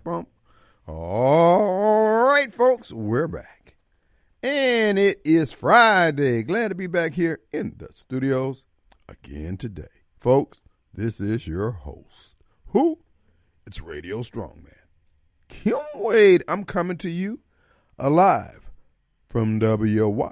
bump. All right, folks, we're back. And it is Friday. Glad to be back here in the studios again today. Folks, this is your host. Who? It's Radio Strongman. Kim Wade. I'm coming to you alive from WYAB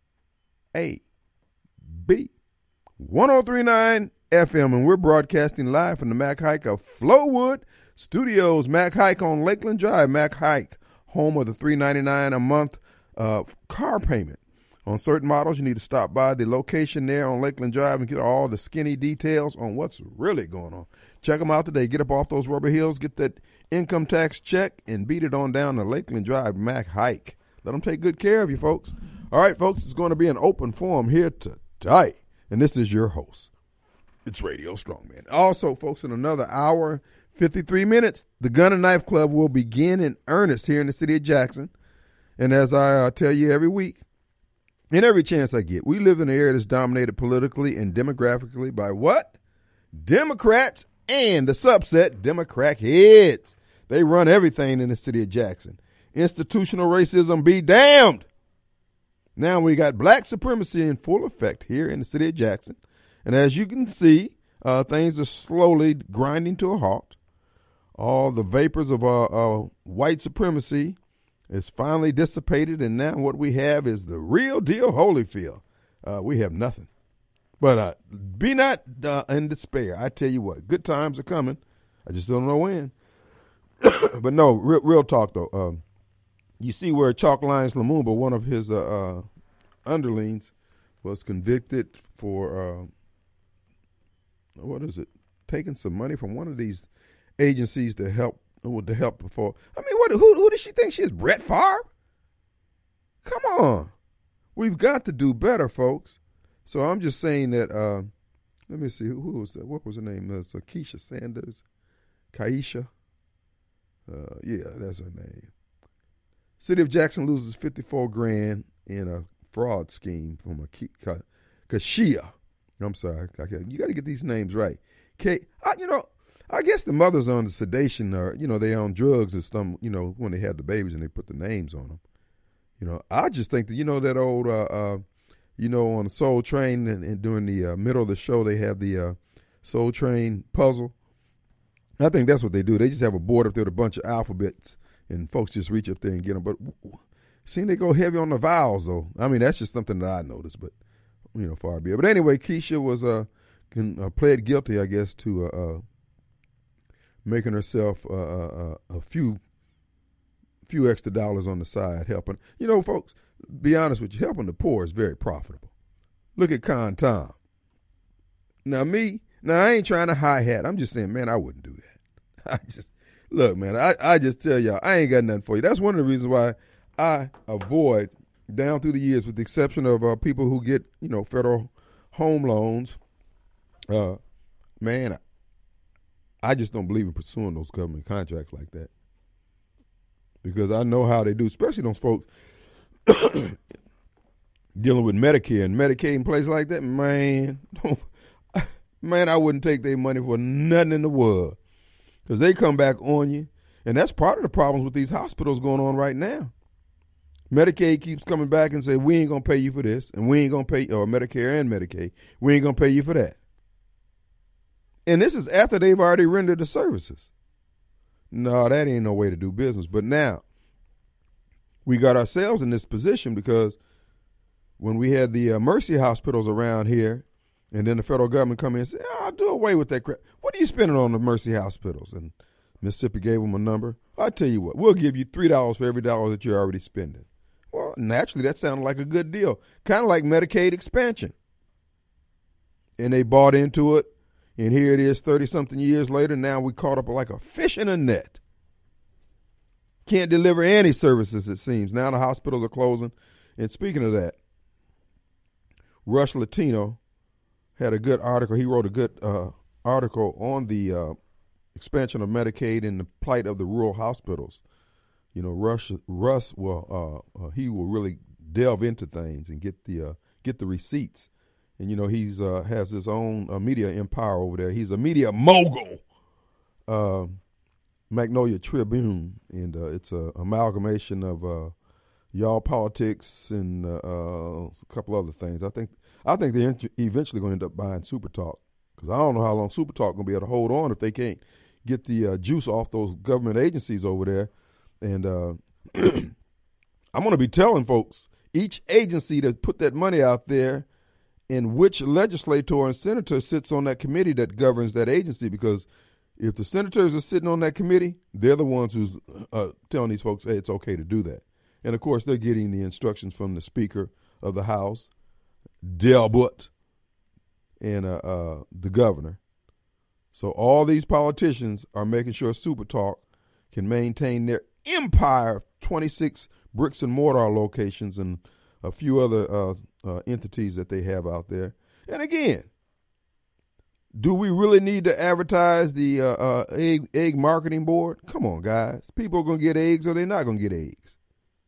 1039 FM, and we're broadcasting live from the Mac Haik of Flowood Studios. Mac Haik on Lakeland Drive. Mac Haik, home of the $399 a month car payment. On certain models, you need to stop by the location there on Lakeland Drive and get all the skinny details on what's really going on. Check them out today. Get up off those rubber heels, get that income tax check, and beat it on down to Lakeland Drive, Mac Haik. Let them take good care of you, folks. All right, folks, it's going to be an open forum here today, and this is your host. It's Radio Strongman. Also, folks, in another hour, 53 minutes, the Gun and Knife Club will begin in earnest here in the city of Jackson. And as I tell you every week, and every chance I get, we live in an area that's dominated politically and demographically by what? Democrats and the subset, Democrat heads. They run everything in the city of Jackson. Institutional racism be damned. Now we got black supremacy in full effect here in the city of Jackson. And as you can see, things are slowly grinding to a halt. All the vapors of white supremacy is finally dissipated, and now what we have is the real deal Holyfield. We have nothing. But be not in despair. I tell you what, good times are coming. I just don't know when. But no, real talk, though. You see where Chalk Lyons Lumumba, one of his underlings, was convicted for, taking some money from one of these agencies to help before. I mean, who does she think she is, Brett Favre? Come on. We've got to do better, folks. So I'm just saying that, let me see, who was that? What was her name? Keisha Sanders? Kaisha? Yeah, that's her name. City of Jackson loses $54,000 in a fraud scheme from a Kashia. I'm sorry. You got to get these names right. I guess the mothers on the sedation are, they on drugs and stuff, when they had the babies and they put the names on them. I just think that, that old, on the Soul Train and during the middle of the show, they have the Soul Train puzzle. I think that's what they do. They just have a board up there with a bunch of alphabets and folks just reach up there and get them. But seem they go heavy on the vowels, though. I mean, that's just something that I noticed, but, far be it. But anyway, Keisha was pled guilty, I guess, to making herself a few extra dollars on the side, helping. Folks, be honest with you, helping the poor is very profitable. Look at Con Tom. Now, I ain't trying to hi-hat. I'm just saying, man, I wouldn't do that. Look, man, I just tell y'all, I ain't got nothing for you. That's one of the reasons why I avoid, down through the years, with the exception of people who get, federal home loans, man, I just don't believe in pursuing those government contracts like that. Because I know how they do, especially those folks dealing with Medicare and Medicaid and places like that. Man, I wouldn't take their money for nothing in the world. Because they come back on you. And that's part of the problems with these hospitals going on right now. Medicaid keeps coming back and say, we ain't going to pay you for this. And we ain't going to pay, or Medicare and Medicaid, we ain't going to pay you for that. And this is after they've already rendered the services. No, that ain't no way to do business. But now, we got ourselves in this position because when we had the Mercy hospitals around here, and then the federal government come in and say, I'll do away with that crap. What are you spending on the Mercy hospitals? And Mississippi gave them a number. I'll tell you what, we'll give you $3 for every dollar that you're already spending. Well, naturally, that sounded like a good deal. Kind of like Medicaid expansion. And they bought into it. And here it is 30-something years later. Now we caught up like a fish in a net. Can't deliver any services, it seems. Now the hospitals are closing. And speaking of that, Rush Latino had a good article. He wrote a good article on the expansion of Medicaid and the plight of the rural hospitals. Russ will he will really delve into things and get the receipts. And he's has his own media empire over there. He's a media mogul. Magnolia Tribune, and it's an amalgamation of y'all politics and a couple other things. I think they're eventually going to end up buying Super Talk, because I don't know how long Super Talk going to be able to hold on if they can't get the juice off those government agencies over there. And I'm going to be telling folks, each agency that put that money out there and which legislator and senator sits on that committee that governs that agency, because if the senators are sitting on that committee, they're the ones who's telling these folks, hey, it's okay to do that. And, of course, they're getting the instructions from the Speaker of the House, Delbert, and the governor. So all these politicians are making sure Super Talk can maintain their empire of 26 bricks and mortar locations and a few other entities that they have out there. And again, do we really need to advertise the egg marketing board? Come on, guys. People are going to get eggs or they're not going to get eggs.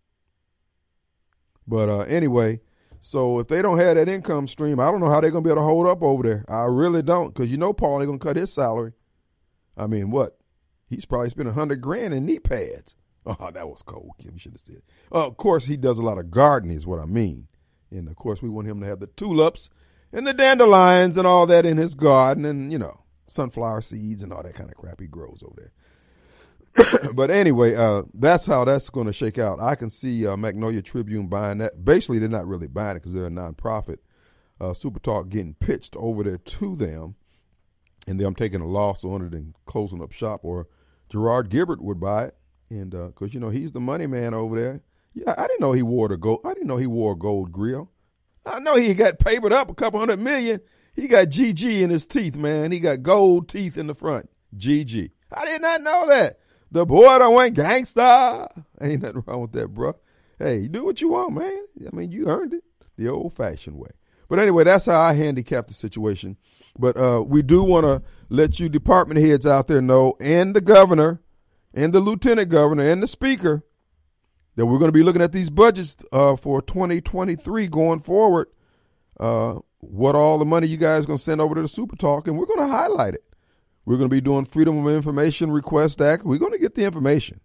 But anyway, so if they don't have that income stream, I don't know how they're going to be able to hold up over there. I really don't, because you know Paul ain't going to cut his salary. I mean, what? He's probably spent $100,000 in knee pads. Oh, that was cold, Kim. You should have said. Of course, he does a lot of gardening is what I mean. And, of course, we want him to have the tulips and the dandelions and all that in his garden and, you know, sunflower seeds and all that kind of crap he grows over there. But anyway, that's how that's going to shake out. I can see Magnolia Tribune buying that. Basically, they're not really buying it because they're a nonprofit. Super Talk getting pitched over there to them, and them taking a loss on it and closing up shop. Or Gerard Gibert would buy it, and because you know he's the money man over there. Yeah, I didn't know he wore a gold grill. I know he got papered up a couple $100 million. He got GG in his teeth, man. He got gold teeth in the front. GG. I did not know that. The boy that went gangsta. Ain't nothing wrong with that, bro. Hey, you do what you want, man. I mean, you earned it the old-fashioned way. But anyway, that's how I handicap the situation. But we do want to let you department heads out there know, and the governor, and the lieutenant governor, and the speaker, that we're going to be looking at these budgets for 2023 going forward. What all the money you guys are going to send over to the Super Talk, and we're going to highlight it. We're going to be doing Freedom of Information Request Act. We're going to get the information.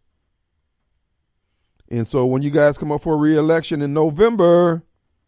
And so when you guys come up for re-election in November,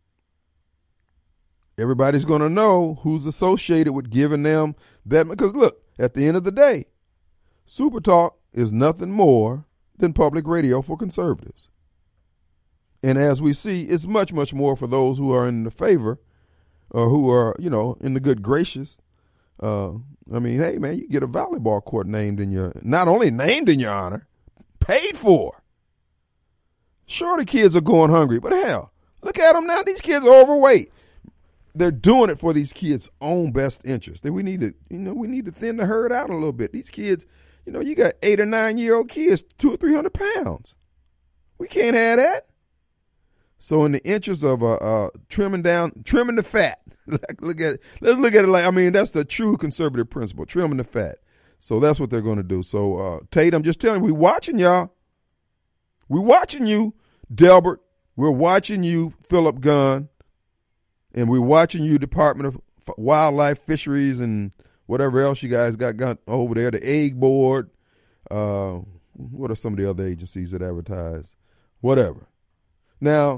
everybody's going to know who's associated with giving them that. Because look, at the end of the day, Super Talk is nothing more than public radio for conservatives. And as we see, it's much, much more for those who are in the favor or who are, you know, in the good gracious. I mean, hey, man, you get a volleyball court not only named in your honor, paid for. Sure, the kids are going hungry, but hell, look at them now. These kids are overweight. They're doing it for these kids' own best interest. We need to thin the herd out a little bit. These kids, you know, you got 8 or 9 year old kids, 200 or 300 pounds. We can't have that. So in the interest of trimming the fat, let's look at it like, I mean, that's the true conservative principle, trimming the fat. So that's what they're going to do. So Tate, I'm just telling you, we watching y'all. We watching you, Delbert. We're watching you, Philip Gunn. And we're watching you, Department of Wildlife, Fisheries, and whatever else you guys got over there, the Egg Board. What are some of the other agencies that advertise? Whatever. Now,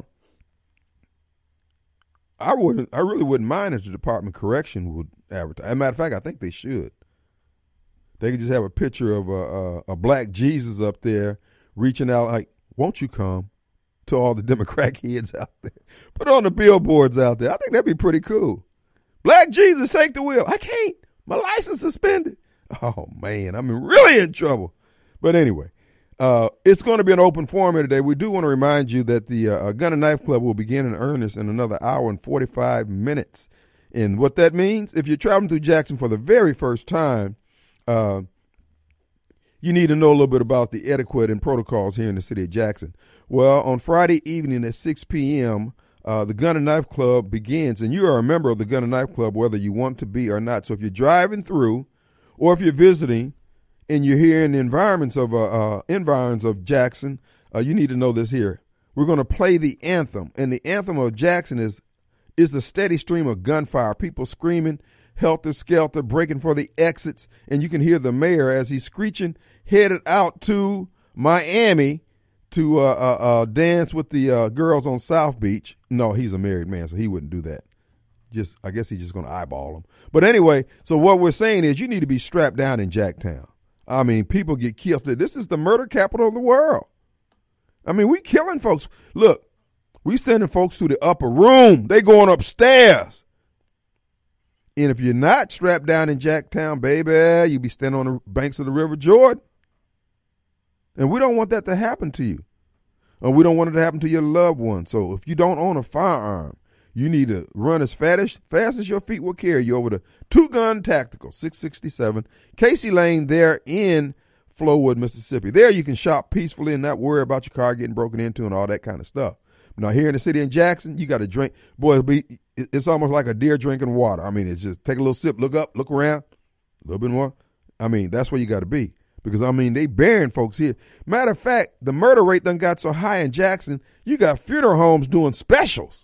I really wouldn't mind if the Department of Correction would advertise. As a matter of fact, I think they should. They could just have a picture of a black Jesus up there reaching out like, won't you come? To all the Democrat kids out there. Put on the billboards out there. I think that'd be pretty cool. Black Jesus, take the wheel. I can't. My license suspended. Oh, man, I'm really in trouble. But anyway, it's going to be an open forum here today. We do want to remind you that the Gun and Knife Club will begin in earnest in another hour and 45 minutes. And what that means, if you're traveling through Jackson for the very first time, you need to know a little bit about the etiquette and protocols here in the city of Jackson. Well, on Friday evening at 6 p.m., the Gun and Knife Club begins, and you are a member of the Gun and Knife Club whether you want to be or not. So if you're driving through or if you're visiting and you're here in the environs of Jackson, you need to know this here. We're going to play the anthem, and the anthem of Jackson is a steady stream of gunfire, people screaming, helter-skelter, breaking for the exits, and you can hear the mayor as he's screeching, headed out to Miami to dance with the girls on South Beach. No, he's a married man, so he wouldn't do that. I guess he's just going to eyeball them. But anyway, so what we're saying is you need to be strapped down in Jacktown. I mean, people get killed. This is the murder capital of the world. I mean, we killing folks. Look, we sending folks to the upper room. They going upstairs. And if you're not strapped down in Jacktown, baby, you be standing on the banks of the River Jordan. And we don't want that to happen to you. Or we don't want it to happen to your loved one. So if you don't own a firearm, you need to run as fast as your feet will carry you over to Two Gun Tactical, 667 Casey Lane there in Flowood, Mississippi. There you can shop peacefully and not worry about your car getting broken into and all that kind of stuff. Now here in the city in Jackson, you got to drink. Boy, it's almost like a deer drinking water. I mean, it's just take a little sip, look up, look around, a little bit more. I mean, that's where you got to be. Because, I mean, they burying folks here. Matter of fact, the murder rate done got so high in Jackson, you got funeral homes doing specials.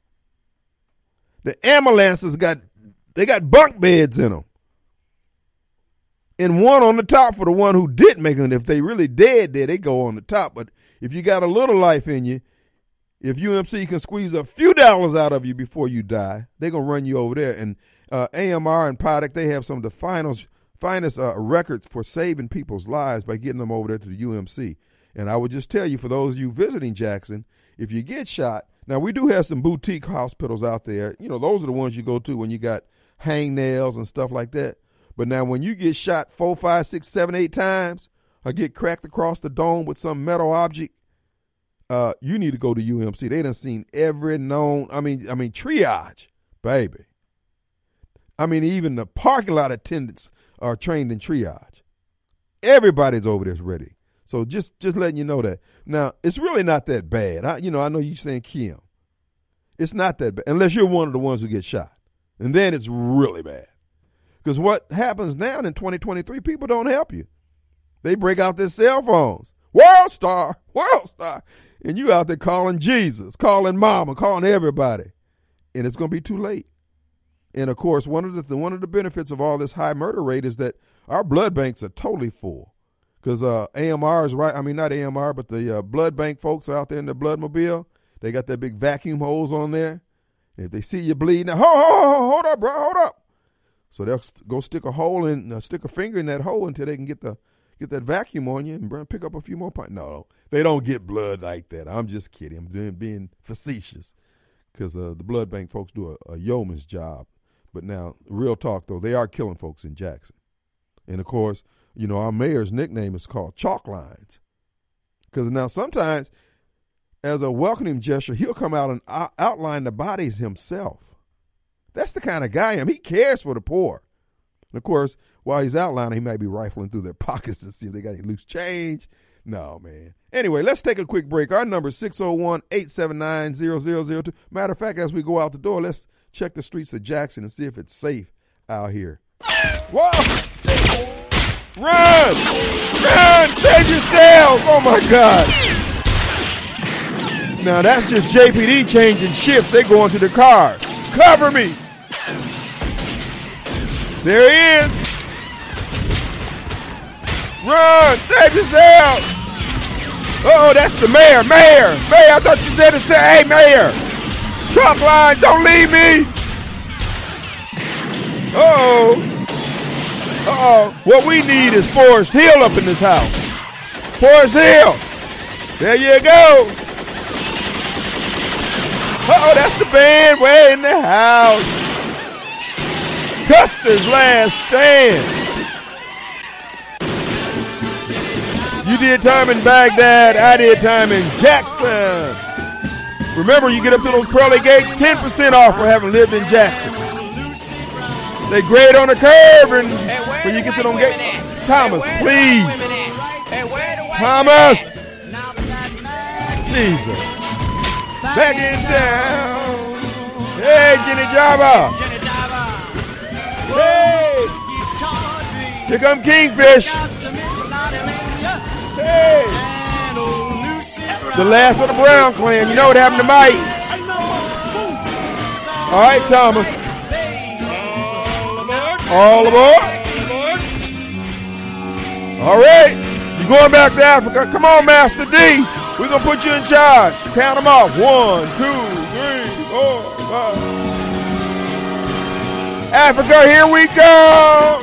The ambulances got bunk beds in them. And one on the top for the one who did make it. If they really dead there, they go on the top. But if you got a little life in you, if UMC can squeeze a few dollars out of you before you die, they're going to run you over there. And AMR and Paddock, they have some of the finest records for saving people's lives by getting them over there to the UMC. And I would just tell you, for those of you visiting Jackson, if you get shot, now we do have some boutique hospitals out there. You know, those are the ones you go to when you got hangnails and stuff like that. But now when you get shot 4, 5, 6, 7, 8 times or get cracked across the dome with some metal object, you need to go to UMC. They done seen every known, I mean triage, baby. I mean, even the parking lot attendants are trained in triage. Everybody's over there ready. So just letting you know that. Now, it's really not that bad. I know you're saying Kim. It's not that bad, unless you're one of the ones who get shot. And then it's really bad. Because what happens now in 2023, people don't help you. They break out their cell phones. World Star. And you out there calling Jesus, calling mama, calling everybody. And it's going to be too late. And, of course, one of the benefits of all this high murder rate is that our blood banks are totally full. Because AMR is right. I mean, not AMR, but the blood bank folks out there in the Bloodmobile, they got that big vacuum hose on there. And if they see you bleeding, hold up, bro, hold up. So they'll go stick a finger in that hole until they can get that vacuum on you and pick up a few more pints. No, they don't get blood like that. I'm just kidding. I'm being facetious because the blood bank folks do a yeoman's job. But now, real talk, though, they are killing folks in Jackson. And, of course, you know, our mayor's nickname is called Chalk Lines. Because now sometimes, as a welcoming gesture, he'll come out and outline the bodies himself. That's the kind of guy I am. He cares for the poor. And, of course, while he's outlining, he might be rifling through their pockets and see if they got any loose change. No, man. Anyway, let's take a quick break. Our number is 601-879-0002. Matter of fact, as we go out the door, let's check the streets of Jackson and see if it's safe out here. Whoa! Run! Save yourselves! Oh, my God. Now, that's just JPD changing shifts. They go into the cars. Cover me! There he is! Run! Save yourself! Uh-oh, that's the mayor! Mayor! I thought you said to say, hey, mayor! Chalk line, don't leave me! Uh-oh. What we need is Forest Hill up in this house. Forest Hill. There you go. Uh-oh, that's the band way in the house. Custer's Last Stand. You did time in Baghdad. I did time in Jackson. Remember, you get up to those pearly gates, 10% off for having lived in Jackson. They grade on the curve, and when you get to them gates, Thomas, please. Thomas. Jesus. Back in town. Hey, Jenny Java. Hey. Here come Kingfish. Hey. The last of the Brown clan. You know what happened to Mike. All right, Thomas. All aboard. All right. You're going back to Africa. Come on, Master D. We're going to put you in charge. Count them off. 1, 2, 3, 4, 5. Africa, here we go.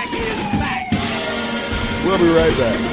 We'll be right back.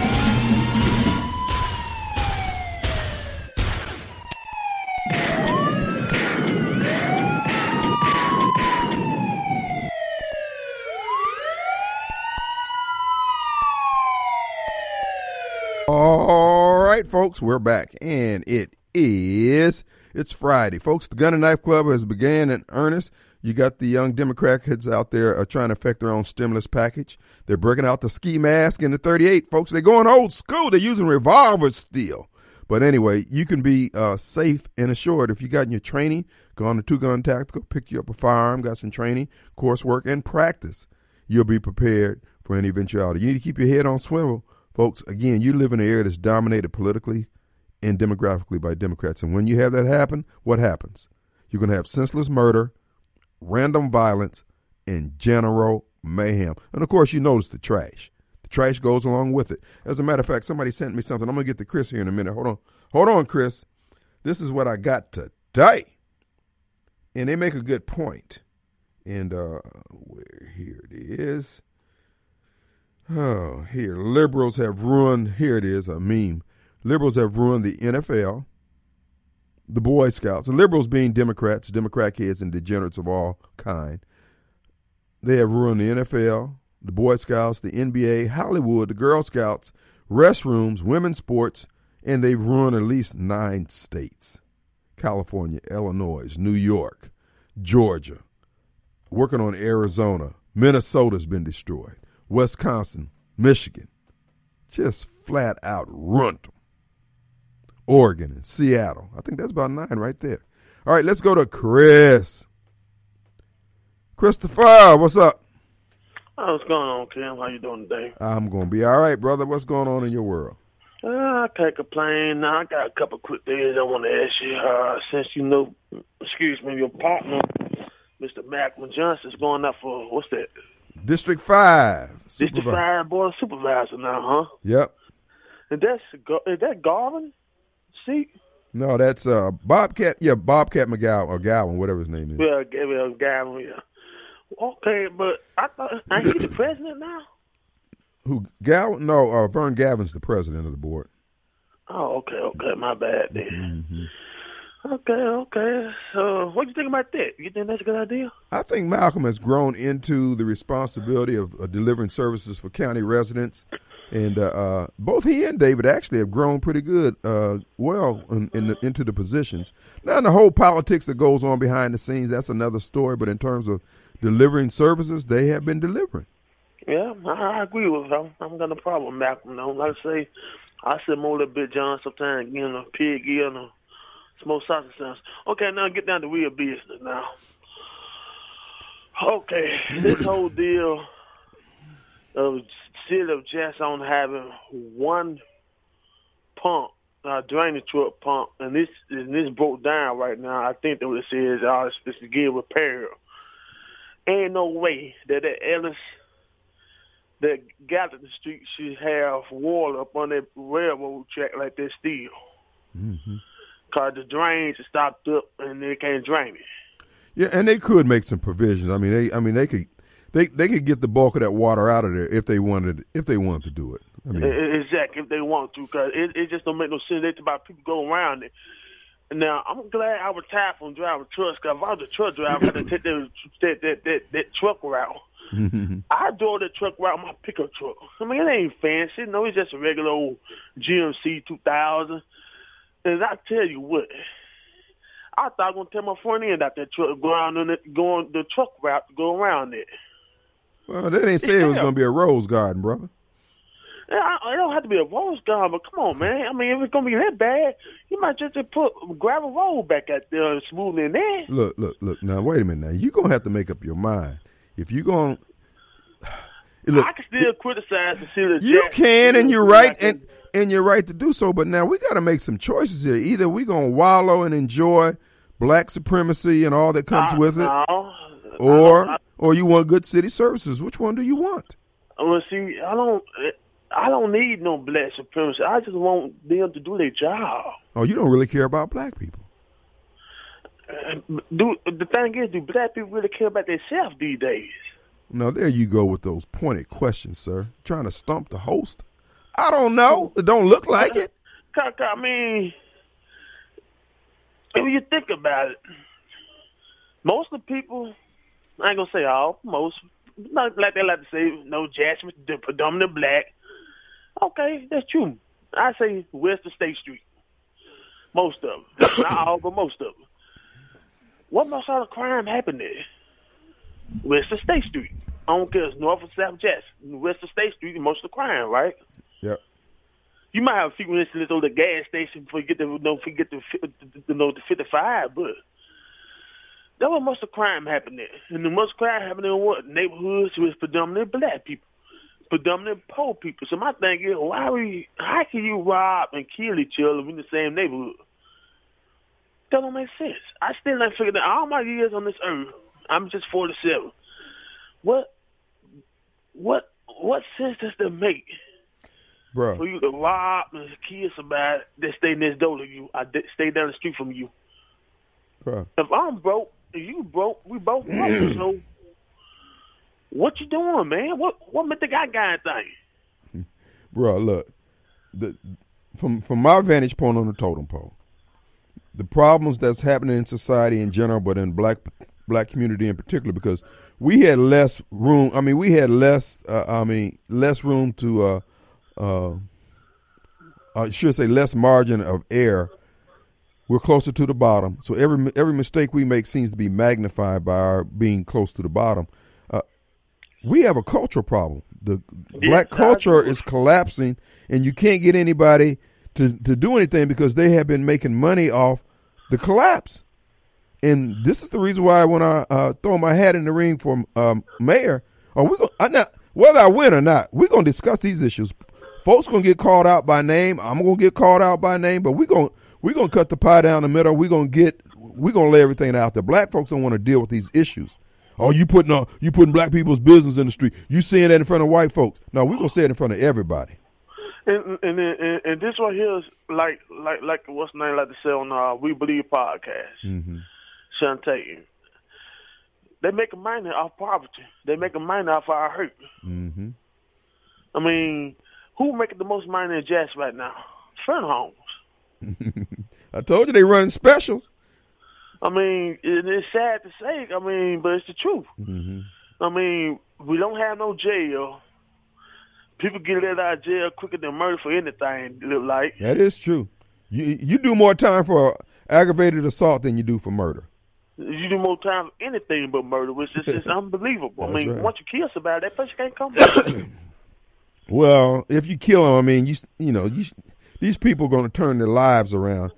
All right, folks, we're back, and it's Friday. Folks, the Gun and Knife Club has began in earnest. You got the young Democrat kids out there trying to affect their own stimulus package. They're breaking out the ski mask and the 38, folks. They're going old school. They're using revolvers still. But anyway, you can be safe and assured if you got in your training, go on to Two Gun Tactical, pick you up a firearm, got some training, coursework, and practice. You'll be prepared for any eventuality. You need to keep your head on swivel. Folks, again, you live in an area that's dominated politically and demographically by Democrats. And when you have that happen, what happens? You're going to have senseless murder, random violence, and general mayhem. And, of course, you notice the trash. The trash goes along with it. As a matter of fact, somebody sent me something. I'm going to get to Chris here in a minute. Hold on, Chris. This is what I got today. And they make a good point. And here it is. Oh, here. Liberals have ruined, here it is, a meme. Liberals have ruined the NFL, the Boy Scouts, the liberals being Democrats, Democrat kids and degenerates of all kind. They have ruined the NFL, the Boy Scouts, the NBA, Hollywood, the Girl Scouts, restrooms, women's sports, and they've ruined at least 9 states. California, Illinois, New York, Georgia, working on Arizona. Minnesota's been destroyed. Wisconsin, Michigan, just flat out ruined them. Oregon and Seattle. I think that's about 9 right there. All right, let's go to Chris. Christopher, what's up? Oh, what's going on, Tim? How you doing today? I'm going to be all right, brother. What's going on in your world? I can't complain. I got a couple quick things I want to ask you. Since you know, your partner, Mr. Malcolm Johnson, is going up for, what's that? District 5. District 5 Board of Supervisor now, huh? Yep. And is that Garvin seat? No, that's Bobcat. Yeah, Bobcat McGowan or Gowan, whatever his name is. Yeah, Gowan. Yeah. Okay, but I thought ain't he the president now? Who Gowan? No, Vern Gavin's the president of the board. Oh, okay, my bad then. Mm-hmm. Okay. So, what do you think about that? You think that's a good idea? I think Malcolm has grown into the responsibility of delivering services for county residents, and both he and David actually have grown pretty good, into the positions. Now, in the whole politics that goes on behind the scenes, that's another story. But in terms of delivering services, they have been delivering. Yeah, I agree with him. I'm got no problem with Malcolm. Though. Like I say, I sit more than Big John sometimes, a pig, smoke sausage sounds. Okay, now get down to real business now. Okay, this whole deal of city of Jackson having one pump, drainage truck pump, and this broke down right now. I think that what it says it's supposed to get repaired. Ain't no way that Ellis that Gallatin Street should have water up on that railroad track like that still. Mm-hmm. Because the drains are stopped up and they can't drain it. Yeah, and they could make some provisions. They could get the bulk of that water out of there if they wanted to do it. Exactly, if they want to, because it just don't make no sense. It's about people go around it. Now, I'm glad I retired from driving trucks, because if I was a truck driver, I had to take that truck route. Mm-hmm. I drove that truck route on my pickup truck. It ain't fancy. No, it's just a regular old GMC 2000. And I tell you what, I thought I was gonna tell my front end out that truck going the truck route to go around it. Well, they didn't say it was gonna be a rose garden, brother. Yeah, it don't have to be a rose garden, but come on, man. If it's gonna be that bad, you might just put gravel road back out there and smooth in there. Look. Now, wait a minute. Now, you're gonna have to make up your mind if you're gonna. Look, I can still criticize the city. You can, and you're right, and you're right to do so. But now we got to make some choices here. Either we're gonna wallow and enjoy black supremacy and all that comes with it, or or you want good city services? Which one do you want? Well, see, I don't need no black supremacy. I just want them to do their job. Oh, you don't really care about black people. The thing is, do black people really care about themselves these days? Now, there you go with those pointed questions, sir. Trying to stump the host. I don't know. It don't look like it. I mean, if you think about it, most of the people, I ain't going to say all, most, not like they like to say, no, Jackson, they're predominantly black. Okay, that's true. I say west of State Street. Most of them. Not all, but most of them. What most of the crime happened there? West of State Street. I don't care if it's North or South Jackson. West of State Street is most of the crime, right? Yep. You might have a few incidents on the gas station before you get the 55, but that was most of the crime happened there. And the most crime happened in what? Neighborhoods with predominantly black people, predominantly poor people. So my thing is, how can you rob and kill each other in the same neighborhood? That don't make sense. I still ain't figured out all my years on this earth. I'm just 47. What sense does that make? Bro. For you to rob and kill somebody that stay next door to you, stay down the street from you. Bro. If I'm broke and you broke, we both broke. So what you doing, man? What make the guy thing? Bro, look, from my vantage point on the totem pole, the problems that's happening in society in general, but in black community in particular, because we had less room. I mean, we had less room to, I should say, less margin of error. We're closer to the bottom, so every mistake we make seems to be magnified by our being close to the bottom. We have a cultural problem. The black culture is collapsing, and you can't get anybody to do anything because they have been making money off the collapse. And this is the reason why when I throw my hat in the ring for mayor, whether I win or not, we're going to discuss these issues. Folks going to get called out by name. I'm going to get called out by name, but we're going to cut the pie down the middle. We're going to lay everything out there. Black folks don't want to deal with these issues. Oh, you putting black people's business in the street. You saying that in front of white folks. No, we're going to say it in front of everybody. And this right here is like what's the name like to say on We Believe podcast. Mm-hmm. Shantae. They make a money off poverty. They make a money off our hurt. Mm-hmm. I mean, who making the most money in Jackson right now? Friend homes. I told you they running specials. I mean, it's sad to say. I mean, but it's the truth. Mm-hmm. I mean, we don't have no jail. People get let out of jail quicker than murder for anything. Look like that is true. You do more time for aggravated assault than you do for murder. You do more time for anything but murder, which is just unbelievable. I mean, right. Once you kill somebody, that person can't come back. Well, if you kill them, I mean, these people are going to turn their lives around.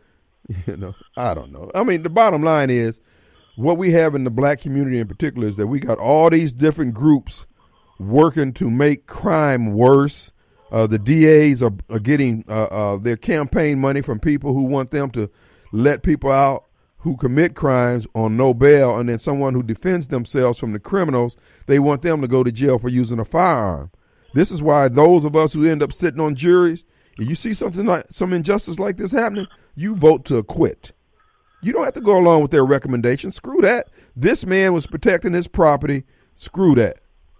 I don't know. I mean, the bottom line is what we have in the black community in particular is that we got all these different groups working to make crime worse. The DAs are getting their campaign money from people who want them to let people out who commit crimes on no bail, and then someone who defends themselves from the criminals, they want them to go to jail for using a firearm. This is why those of us who end up sitting on juries, if you see something like some injustice like this happening, you vote to acquit. You don't have to go along with their recommendation. Screw that. This man was protecting his property. Screw that.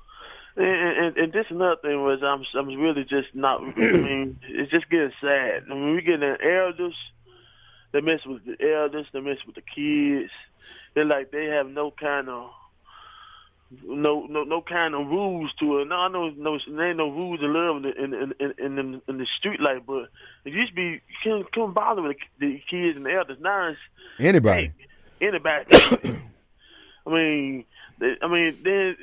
And this another thing was I'm really just not. I mean, it's just getting sad. I mean, we getting elders. They mess with the elders. They mess with the kids. They're like they have no kind of rules to it. No, there ain't no rules of love in the street life. But it used to be you couldn't bother with the kids and the elders. Now it's anybody. I mean, then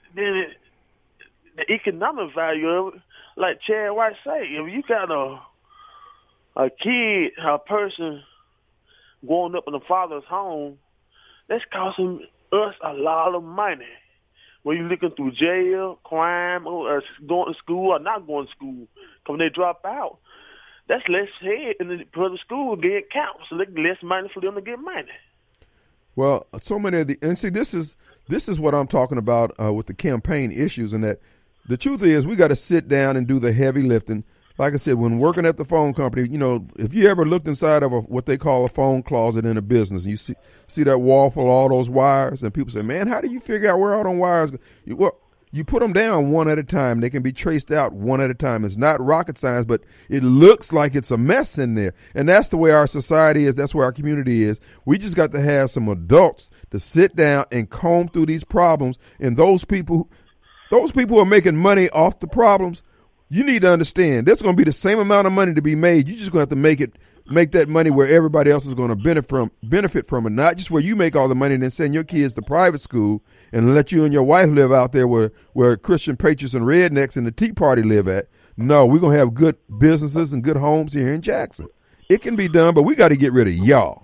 the economic value of it, like Chad White say, if you got a kid, a person growing up in a father's home, that's costing us a lot of money. When you're looking through jail, crime, or going to school or not going to school, when they drop out, that's less head in the public school getting counts, so they get less money for them to get money. Well, so many of and see, this is this is what I'm talking about with the campaign issues, and that the truth is we got to sit down and do the heavy lifting. Like I said, when working at the phone company, you know, if you ever looked inside of what they call a phone closet in a business, and you see that wall full of all those wires, and people say, man, how do you figure out where all them wires go? Well, you put them down one at a time. They can be traced out one at a time. It's not rocket science, but it looks like it's a mess in there. And that's the way our society is. That's where our community is. We just got to have some adults to sit down and comb through these problems. And those people who are making money off the problems, you need to understand there's going to be the same amount of money to be made. You're just going to have to make that money where everybody else is going to benefit from it, not just where you make all the money and then send your kids to private school and let you and your wife live out there where Christian patriots and rednecks and the Tea Party live at. No, we're going to have good businesses and good homes here in Jackson. It can be done, but we got to get rid of y'all.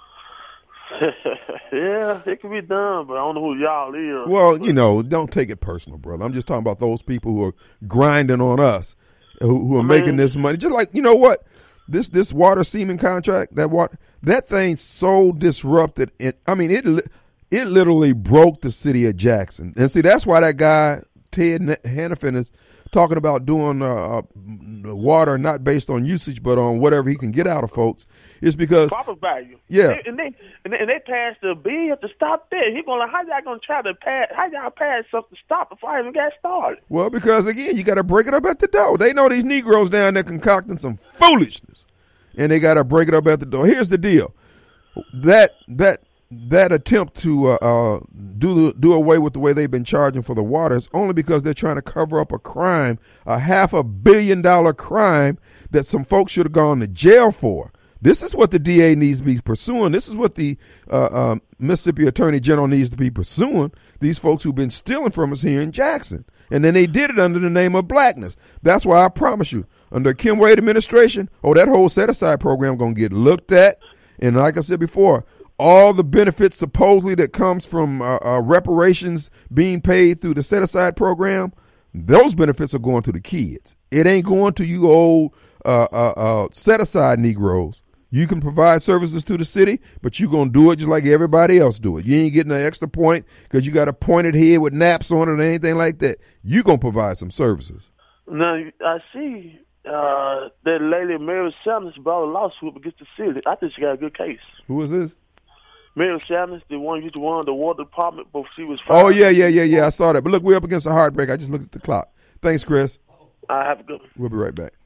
Yeah, it can be done, but I don't know who y'all is. Well, you know, don't take it personal, brother. I'm just talking about those people who are grinding on us, who are making this money. Just like, you know what? This water semen contract, that thing's so disrupted. It literally broke the city of Jackson. And see, that's why that guy, Ted Hannafin, is talking about doing water not based on usage, but on whatever he can get out of folks. It's because profit value. Yeah, and they passed the bill to stop that. He's going like, how y'all going to try to pass? How y'all pass something to stop before I even got started? Well, because again, you got to break it up at the door. They know these Negroes down there concocting some foolishness, and they got to break it up at the door. Here's the deal: that attempt to do away with the way they've been charging for the water is only because they're trying to cover up a crime, a $500 million crime that some folks should have gone to jail for. This is what the DA needs to be pursuing. This is what the Mississippi Attorney General needs to be pursuing, these folks who've been stealing from us here in Jackson. And then they did it under the name of blackness. That's why I promise you, under Kim Wade administration, that whole set-aside program going to get looked at. And like I said before, all the benefits supposedly that comes from reparations being paid through the set-aside program, those benefits are going to the kids. It ain't going to you old set-aside Negroes. You can provide services to the city, but you're going to do it just like everybody else do it. You ain't getting an extra point because you got a pointed head with naps on it or anything like that. You're going to provide some services. Now, I see that lady Mary Sanders brought a lawsuit against the city. I think she got a good case. Who is this? Mary Sanders, the one who used to run the water department, but she was fired. Oh, yeah. I saw that. But look, we're up against a heartbreak. I just looked at the clock. Thanks, Chris. I have a good one. We'll be right back.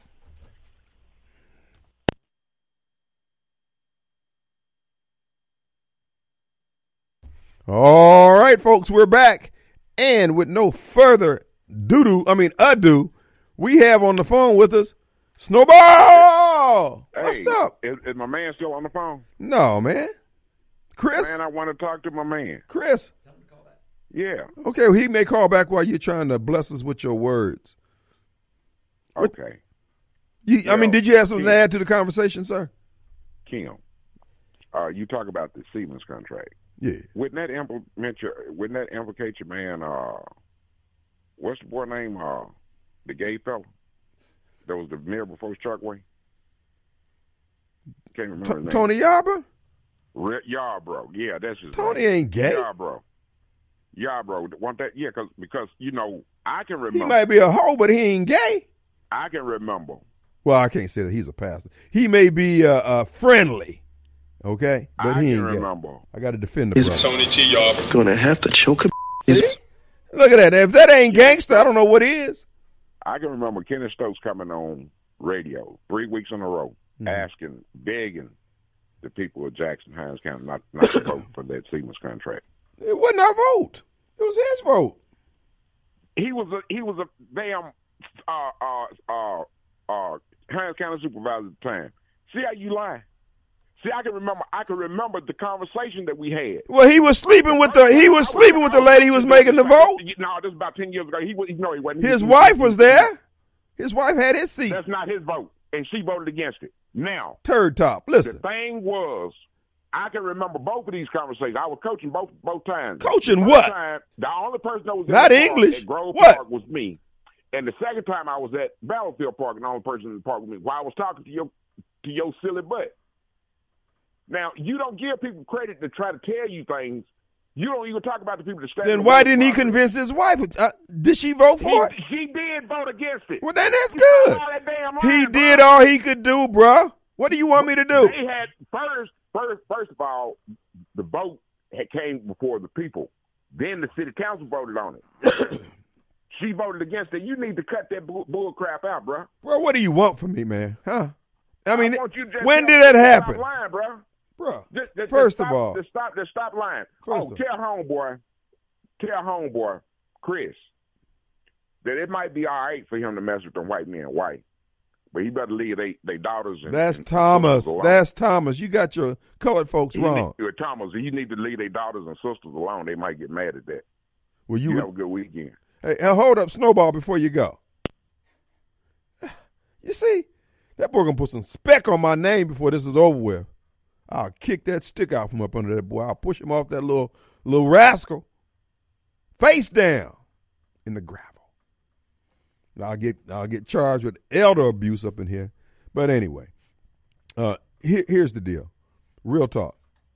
All right, folks, we're back. And with no further ado, we have on the phone with us Snowball. Hey, what's up? Is my man still on the phone? No, man. Chris? Man, I want to talk to my man. Chris? Yeah. Okay, well, he may call back while you're trying to bless us with your words. Okay. Did you have something to add to the conversation, sir? Kim, you talk about the Siemens contract. Yeah. Wouldn't that implicate your man, what's the boy name, the gay fella? That was the mayor before Chuckway? Can't remember his name. Tony Yarbrough? Yarbrough. Yeah, that's his Tony name. ain't gay. Yarbrough. Want that? Yeah, because I can remember. He might be a hoe, but he ain't gay. I can remember. Well, I can't say that he's a pastor. He may be friendly, okay, but he ain't remember. Gay. I got to defend the brother. Tony T. Yarbrough gonna have to choke him. Look at that. If that ain't gangster, I don't know what is. I can remember Kenny Stokes coming on radio 3 weeks in a row, begging the people of Jackson, Hines County not to vote for that Siemens contract. It wasn't our vote. It was his vote. He was a damn Hines County supervisor at the time. See how you lie? See, I can remember the conversation that we had. Well, he was sleeping with the lady who was making the vote. No, this was about 10 years ago. He wasn't. His wife was there. His wife had his seat. That's not his vote, and she voted against it. Now, turd top. Listen, the thing was, I can remember both of these conversations. I was coaching both times. Coaching what? The only person that was not English. At Grove what? Park was me, and the second time I was at Battlefield Park, and the only person in the park was me. While I was talking to your silly butt. Now, you don't give people credit to try to tell you things You don't even talk about the people that stand. Then why didn't he convince his wife? Did she vote for it? She did vote against it. Well, then that's good. He did all he could do, bro. What do you want me to do? They had first of all, the vote came before the people. Then the city council voted on it. She voted against it. You need to cut that bull crap out, bro. Bro, what do you want from me, man? Huh? I mean, when did that that happen? Stop lying, bro. Bro, First of all. Stop lying. Tell homeboy, Chris, that it might be all right for him to mess with them white men, but he better leave they daughters. That's Thomas. That's Thomas. You got your colored folks wrong. Thomas, you need to leave their daughters and sisters alone. They might get mad at that. Well, you have a good weekend. Hey, hold up, Snowball, before you go. You see, that boy gonna put some speck on my name before this is over with. I'll kick that stick out from up under that boy. I'll push him off that little rascal. Face down in the gravel. I'll get charged with elder abuse up in here. But anyway, here's the deal. Real talk.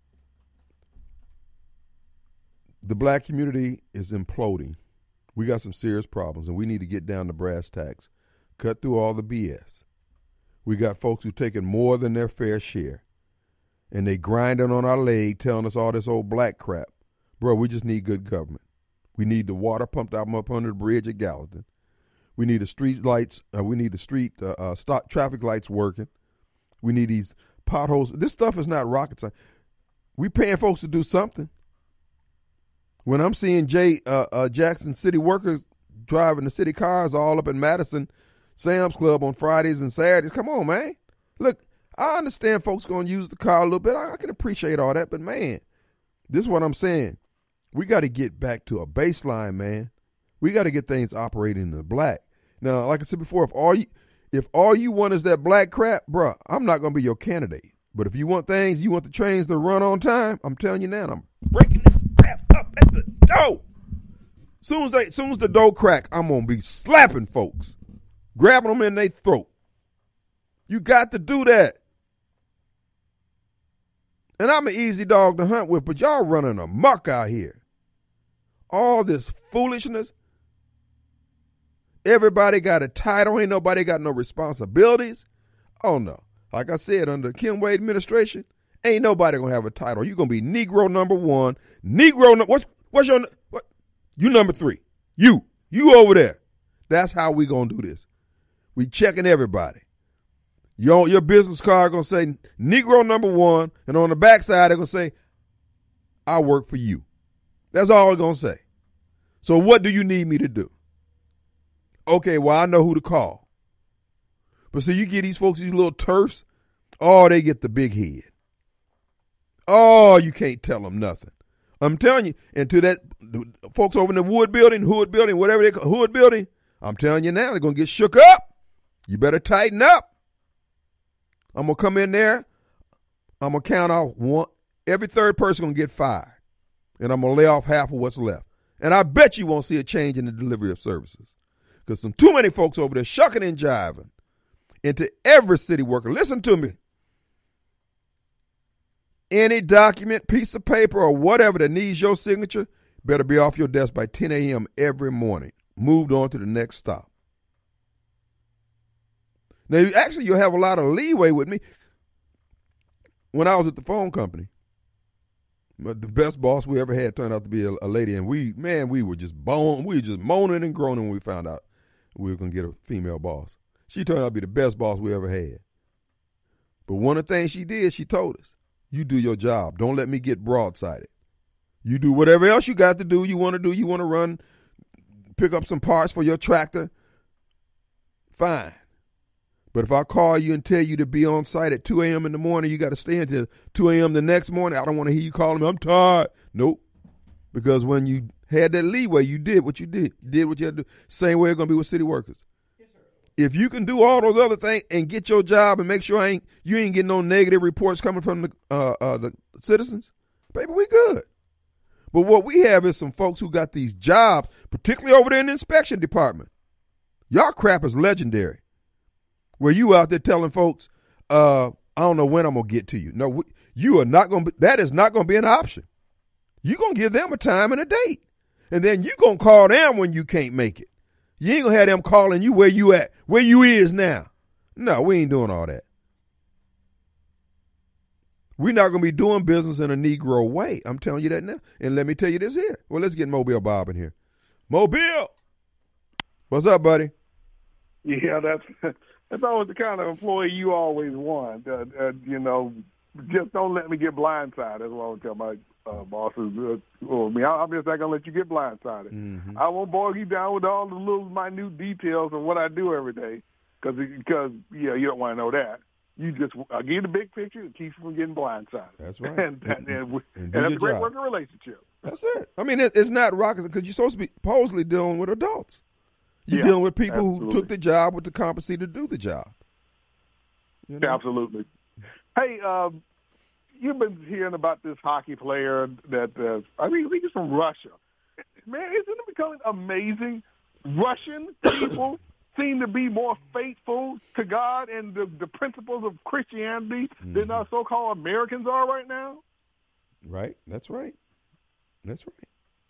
The black community is imploding. We got some serious problems, and we need to get down to brass tacks. Cut through all the BS. We got folks who taking more than their fair share. And they grinding on our leg, telling us all this old black crap. Bro, we just need good government. We need the water pumped out up under the bridge at Gallatin. We need the street lights. We need the stop traffic lights working. We need these potholes. This stuff is not rocket science. We paying folks to do something. When I'm seeing Jackson city workers driving the city cars all up in Madison Sam's Club on Fridays and Saturdays, come on, man. Look, I understand folks going to use the car a little bit. I can appreciate all that, but, man, this is what I'm saying. We got to get back to a baseline, man. We got to get things operating in the black. Now, like I said before, if all you want is that black crap, bro, I'm not going to be your candidate. But if you want the trains to run on time, I'm telling you now, I'm breaking this crap up at the door. Soon as the door crack, I'm going to be slapping folks, grabbing them in their throat. You got to do that. And I'm an easy dog to hunt with, but y'all running amok out here. All this foolishness. Everybody got a title. Ain't nobody got no responsibilities. Oh, no. Like I said, under Kim Wade administration, ain't nobody going to have a title. You're going to be Negro number one. What's your, what? You number three. You over there. That's how we going to do this. We checking everybody. Your business card going to say Negro number one, and on the backside they're going to say, I work for you. That's all they're going to say. So what do you need me to do? Okay, well, I know who to call. But so you get these folks, these little turfs, they get the big head. Oh, you can't tell them nothing. I'm telling you, and to that, folks over in the hood building, whatever they call hood building, I'm telling you now, they're going to get shook up. You better tighten up. I'm going to come in there. I'm going to count off one. Every third person going to get fired. And I'm going to lay off half of what's left. And I bet you won't see a change in the delivery of services. Because some too many folks over there shucking and jiving into every city worker. Listen to me. Any document, piece of paper, or whatever that needs your signature better be off your desk by 10 a.m. every morning. Moved on to the next stop. Now, actually, you'll have a lot of leeway with me. When I was at the phone company, the best boss we ever had turned out to be a lady, and we were just moaning and groaning when we found out we were going to get a female boss. She turned out to be the best boss we ever had. But one of the things she did, she told us, you do your job. Don't let me get broadsided. You do whatever else you got to do, you want to do. You want to run, pick up some parts for your tractor, fine. But if I call you and tell you to be on site at 2 a.m. in the morning, you got to stay until 2 a.m. the next morning. I don't want to hear you calling me, I'm tired. Nope. Because when you had that leeway, you did what you did. You did what you had to do. Same way it's going to be with city workers. Yes, sir. If you can do all those other things and get your job and make sure you ain't getting no negative reports coming from the citizens, baby, we good. But what we have is some folks who got these jobs, particularly over there in the inspection department. Y'all crap is legendary. Where you out there telling folks, I don't know when I'm going to get to you. No, you are not going to, that is not going to be an option. You're going to give them a time and a date. And then you're going to call them when you can't make it. You ain't going to have them calling you where you at, where you is now. No, we ain't doing all that. We're not going to be doing business in a Negro way. I'm telling you that now. And let me tell you this here. Well, let's get Mobile Bob in here. Mobile! What's up, buddy? Yeah, that's always the kind of employee you always want. Just don't let me get blindsided. That's what I would tell my bosses. I'm just not going to let you get blindsided. Mm-hmm. I won't bog you down with all the little minute details of what I do every day because you don't want to know that. You just give you the big picture and keep you from getting blindsided. That's right. and that's a great working relationship. That's it. I mean, it's not rocket because you're supposed to be supposedly dealing with adults. You're dealing with people who took the job with the competency to do the job. You know? Absolutely. Hey, you've been hearing about this hockey player that I think he's from Russia. Man, isn't it becoming amazing? Russian people seem to be more faithful to God and the principles of Christianity than our so-called Americans are right now. Right. That's right. That's right.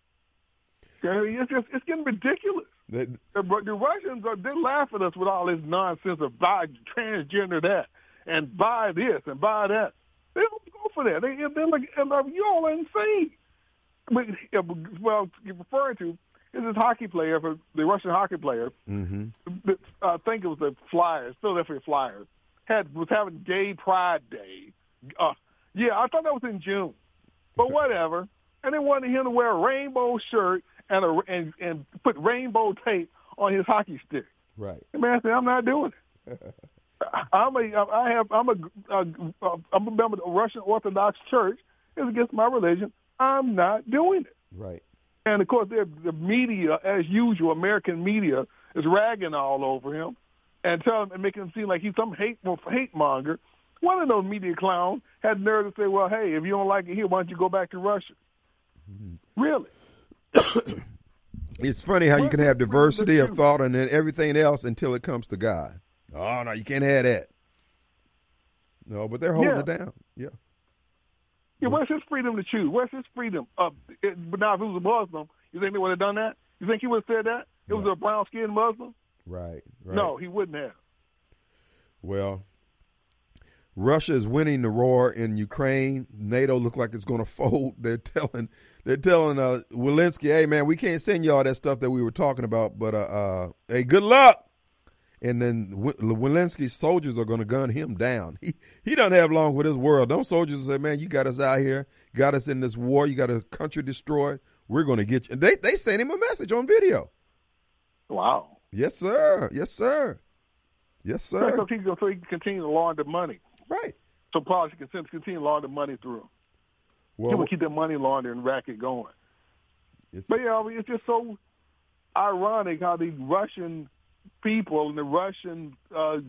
It's getting ridiculous. The Russians they're laughing at us with all this nonsense of buy transgender that and buy this and buy that. They don't go for that. They're like, you all are insane. Well, you're referring to is this hockey player, for the Russian hockey player. Mm-hmm. I think it was the Flyers, Philadelphia Flyers, was having Gay Pride Day. I thought that was in June, but whatever. And they wanted him to wear a rainbow shirt and put rainbow tape on his hockey stick. Right. The man said, "I'm not doing it. I'm a member of the Russian Orthodox Church. It's against my religion. I'm not doing it." Right. And of course, the media, as usual, American media, is ragging all over him and making him seem like he's some hate monger. One of those media clowns had the nerve to say, "Well, hey, if you don't like it here, why don't you go back to Russia?" Mm-hmm. Really? It's funny how you can have diversity of thought and then everything else until it comes to God. Oh, no, you can't have that. No, but they're holding it down. Yeah. Yeah, where's his freedom to choose? Where's his freedom? But now, if it was a Muslim, you think they would have done that? You think he would have said that? It was a brown-skinned Muslim? Right. No, he wouldn't have. Well, Russia is winning the war in Ukraine. NATO look like it's going to fold. They're telling Zelensky, "Hey, man, we can't send you all that stuff that we were talking about, but hey, good luck." And then Zelensky's soldiers are going to gun him down. He doesn't have long with this world. Those soldiers say, "Man, you got us out here, got us in this war. You got a country destroyed. We're going to get you." And they sent him a message on video. Wow. Yes, sir. Yes, sir. Yes, sir. So he can continue to launder money. Right. So policy can continue to launder money through him. Well, he will keep the money laundering racket going. But it's just so ironic how the Russian people and the Russian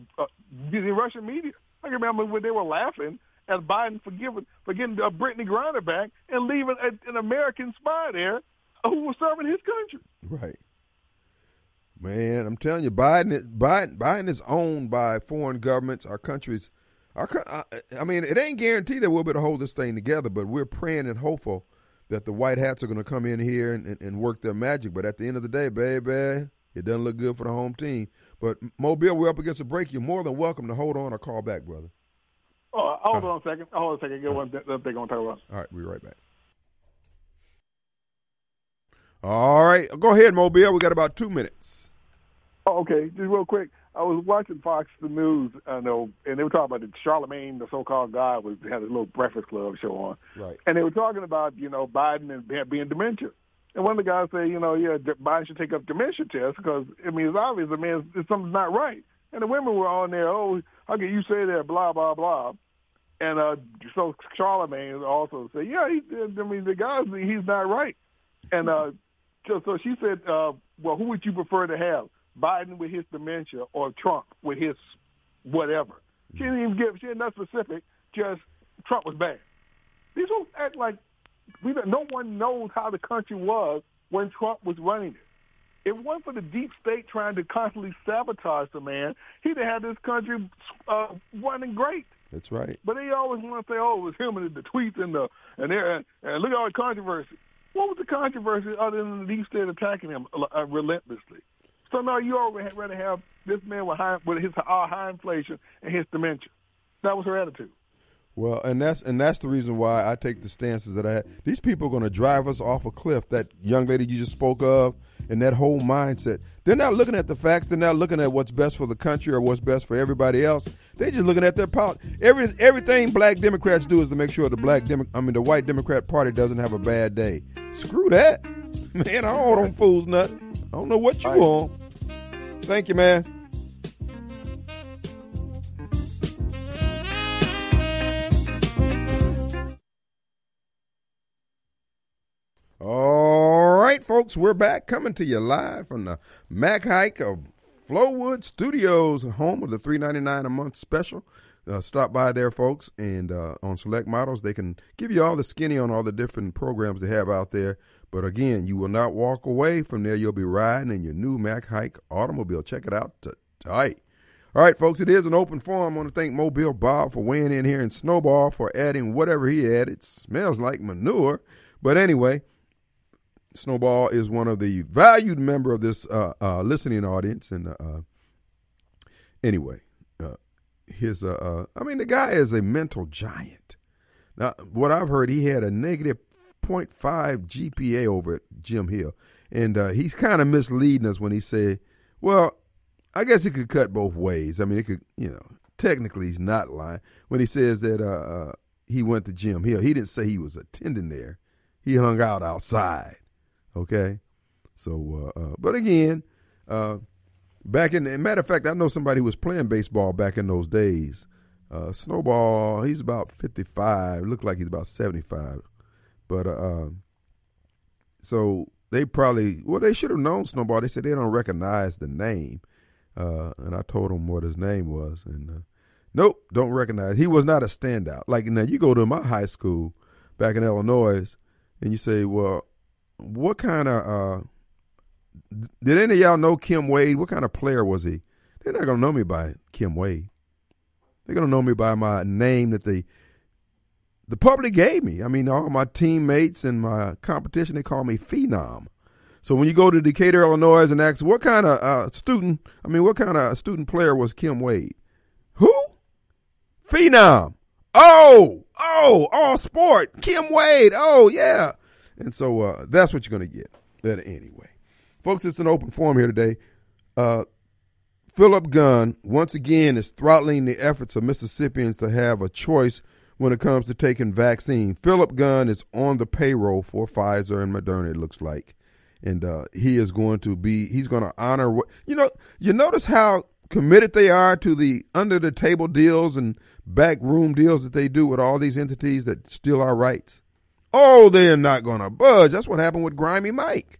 media. I can remember when they were laughing at Biden for getting Brittany Griner back and leaving an American spy there who was serving his country. Right. Man, I'm telling you, Biden is owned by foreign governments. Our countries. I mean, it ain't guaranteed that we'll be able to hold this thing together, but we're praying and hopeful that the white hats are going to come in here and work their magic. But at the end of the day, baby, it doesn't look good for the home team. But, Mobile, we're up against a break. You're more than welcome to hold on or call back, brother. Oh, hold on a second. Get one thing going to talk about. All right, we'll be right back. All right. Go ahead, Mobile. We got about 2 minutes. Oh, okay. Just real quick. I was watching Fox News, and they were talking about Charlemagne, the so-called God, had a little Breakfast Club show on. Right. And they were talking about, Biden and being dementia. And one of the guys said, Biden should take up dementia tests because, it's obvious, something's not right. And the women were on there, "Oh, how can you say that, blah, blah, blah." And so Charlemagne also said, the guy, he's not right. And so she said, well, who would you prefer to have? Biden with his dementia or Trump with his whatever. She didn't not specific, just Trump was bad. These folks act like no one knows how the country was when Trump was running it. If it wasn't for the deep state trying to constantly sabotage the man, he'd have had this country running great. That's right. But they always want to say, "Oh, it was him and the tweets and look at all the controversy." What was the controversy other than the league still attacking him relentlessly? So no, you already rather have this man with his high inflation and his dementia. That was her attitude. Well, and that's the reason why I take the stances that I had. These people are going to drive us off a cliff. That young lady you just spoke of, and that whole mindset. They're not looking at the facts. They're not looking at what's best for the country or what's best for everybody else. They're just looking at their politics. Everything black Democrats do is to make sure the white Democrat Party doesn't have a bad day. Screw that, man. I don't owe them fools nothing. I don't know what you on. Thank you, man. All right, folks, we're back coming to you live from the Mac Hike of Flowood Studios, home of the $3.99 a month special. Stop by there, folks, and on select models, they can give you all the skinny on all the different programs they have out there. But again, you will not walk away from there. You'll be riding in your new Mac Hike automobile. Check it out tonight. All right, folks, it is an open forum. I want to thank Mobile Bob for weighing in here and Snowball for adding whatever he added. It smells like manure. But anyway, Snowball is one of the valued member of this listening audience. And anyway, the guy is a mental giant. Now, what I've heard, he had a negative 0.5 GPA over at Jim Hill. And he's kind of misleading us when he said, well, I guess it could cut both ways. I mean, it could, technically he's not lying. When he says that he went to Jim Hill, he didn't say he was attending there. He hung out outside. Okay, so but again, matter of fact, I know somebody who was playing baseball back in those days. Snowball, he's about 55. Looked like he's about 75. But so they they should have known Snowball. They said they don't recognize the name, and I told them what his name was, and nope, don't recognize. He was not a standout. Like now, you go to my high school back in Illinois, and you say, well, what kind of did any of y'all know Kim Wade? What kind of player was he? They're not going to know me by Kim Wade. They're going to know me by my name that the public gave me. I mean, all my teammates and my competition, they call me Phenom. So when you go to Decatur, Illinois and ask what kind of student player was Kim Wade? Who? Phenom. Oh, all sport. Kim Wade. Oh, yeah. And so that's what you're going to get. But anyway, folks, it's an open forum here today. Philip Gunn, once again, is throttling the efforts of Mississippians to have a choice when it comes to taking vaccine. Philip Gunn is on the payroll for Pfizer and Moderna, it looks like. And he's going to honor what, you notice how committed they are to the under-the-table deals and backroom deals that they do with all these entities that steal our rights. Oh, they're not going to budge. That's what happened with Grimy Mike.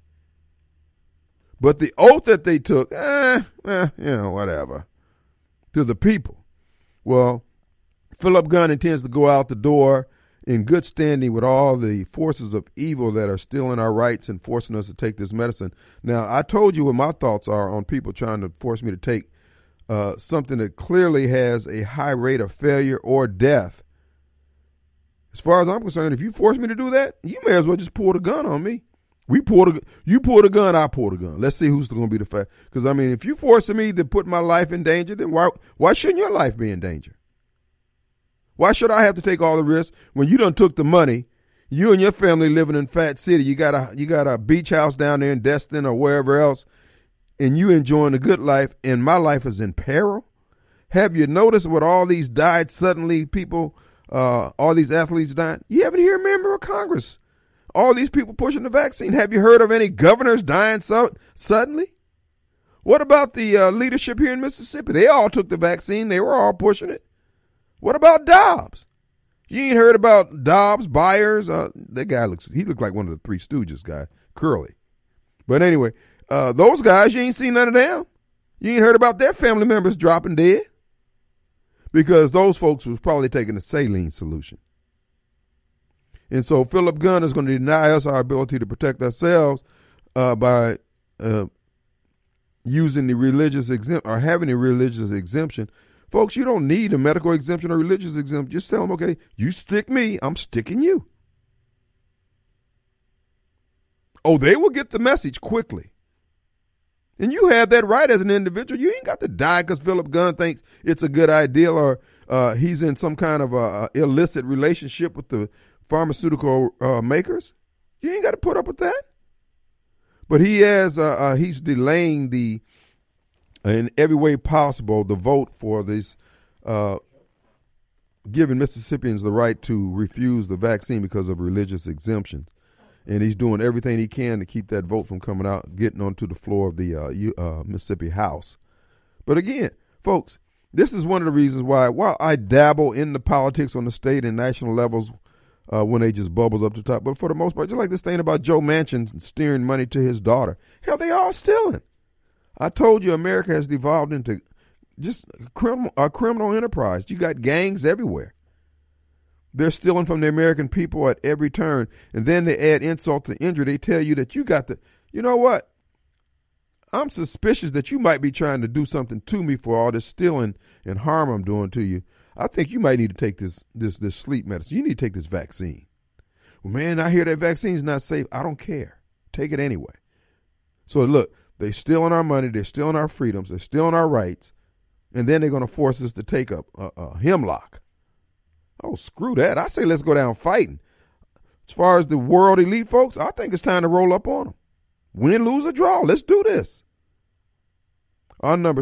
But the oath that they took, whatever, to the people. Well, Philip Gunn intends to go out the door in good standing with all the forces of evil that are stealing our rights and forcing us to take this medicine. Now, I told you what my thoughts are on people trying to force me to take something that clearly has a high rate of failure or death. As far as I'm concerned, if you force me to do that, you may as well just pull the gun on me. You pull the gun, I pull the gun. Let's see who's going to be the fact. Because, I mean, if you're forcing me to put my life in danger, then why shouldn't your life be in danger? Why should I have to take all the risks when you done took the money? You and your family living in Fat City, you got a beach house down there in Destin or wherever else, and you enjoying a good life, and my life is in peril? Have you noticed what all these died suddenly people, all these athletes died? You haven't heard a member of Congress. All these people pushing the vaccine. Have you heard of any governors dying suddenly? What about the leadership here in Mississippi? They all took the vaccine. They were all pushing it. What about Dobbs? You ain't heard about Dobbs, Byers? That guy looked like one of the Three Stooges guy, Curly. But anyway, those guys, you ain't seen none of them. You ain't heard about their family members dropping dead because those folks was probably taking the saline solution. And so Philip Gunn is going to deny us our ability to protect ourselves by using the religious having a religious exemption Folks, you don't need a medical exemption or religious exemption. Just tell them, okay, you stick me, I'm sticking you. Oh, they will get the message quickly. And you have that right as an individual. You ain't got to die because Philip Gunn thinks it's a good idea or he's in some kind of illicit relationship with the pharmaceutical makers. You ain't got to put up with that. But he has he's delaying in every way possible the vote for this, giving Mississippians the right to refuse the vaccine because of religious exemptions. And he's doing everything he can to keep that vote from coming out, getting onto the floor of the Mississippi House. But again, folks, this is one of the reasons why, while I dabble in the politics on the state and national levels when they just bubbles up to the top, but for the most part, just like this thing about Joe Manchin steering money to his daughter, hell, they all stealing. I told you America has devolved into just a criminal enterprise. You got gangs everywhere. They're stealing from the American people at every turn. And then they add insult to injury. They tell you that you got to, you know what? I'm suspicious that you might be trying to do something to me for all this stealing and harm I'm doing to you. I think you might need to take this sleep medicine. You need to take this vaccine. Well, man, I hear that vaccine's not safe. I don't care. Take it anyway. So look, they're stealing our money. They're stealing our freedoms. They're stealing our rights. And then they're going to force us to take up a hemlock. Oh, screw that. I say let's go down fighting. As far as the world elite folks, I think it's time to roll up on them. Win, lose, or draw. Let's do this. Our number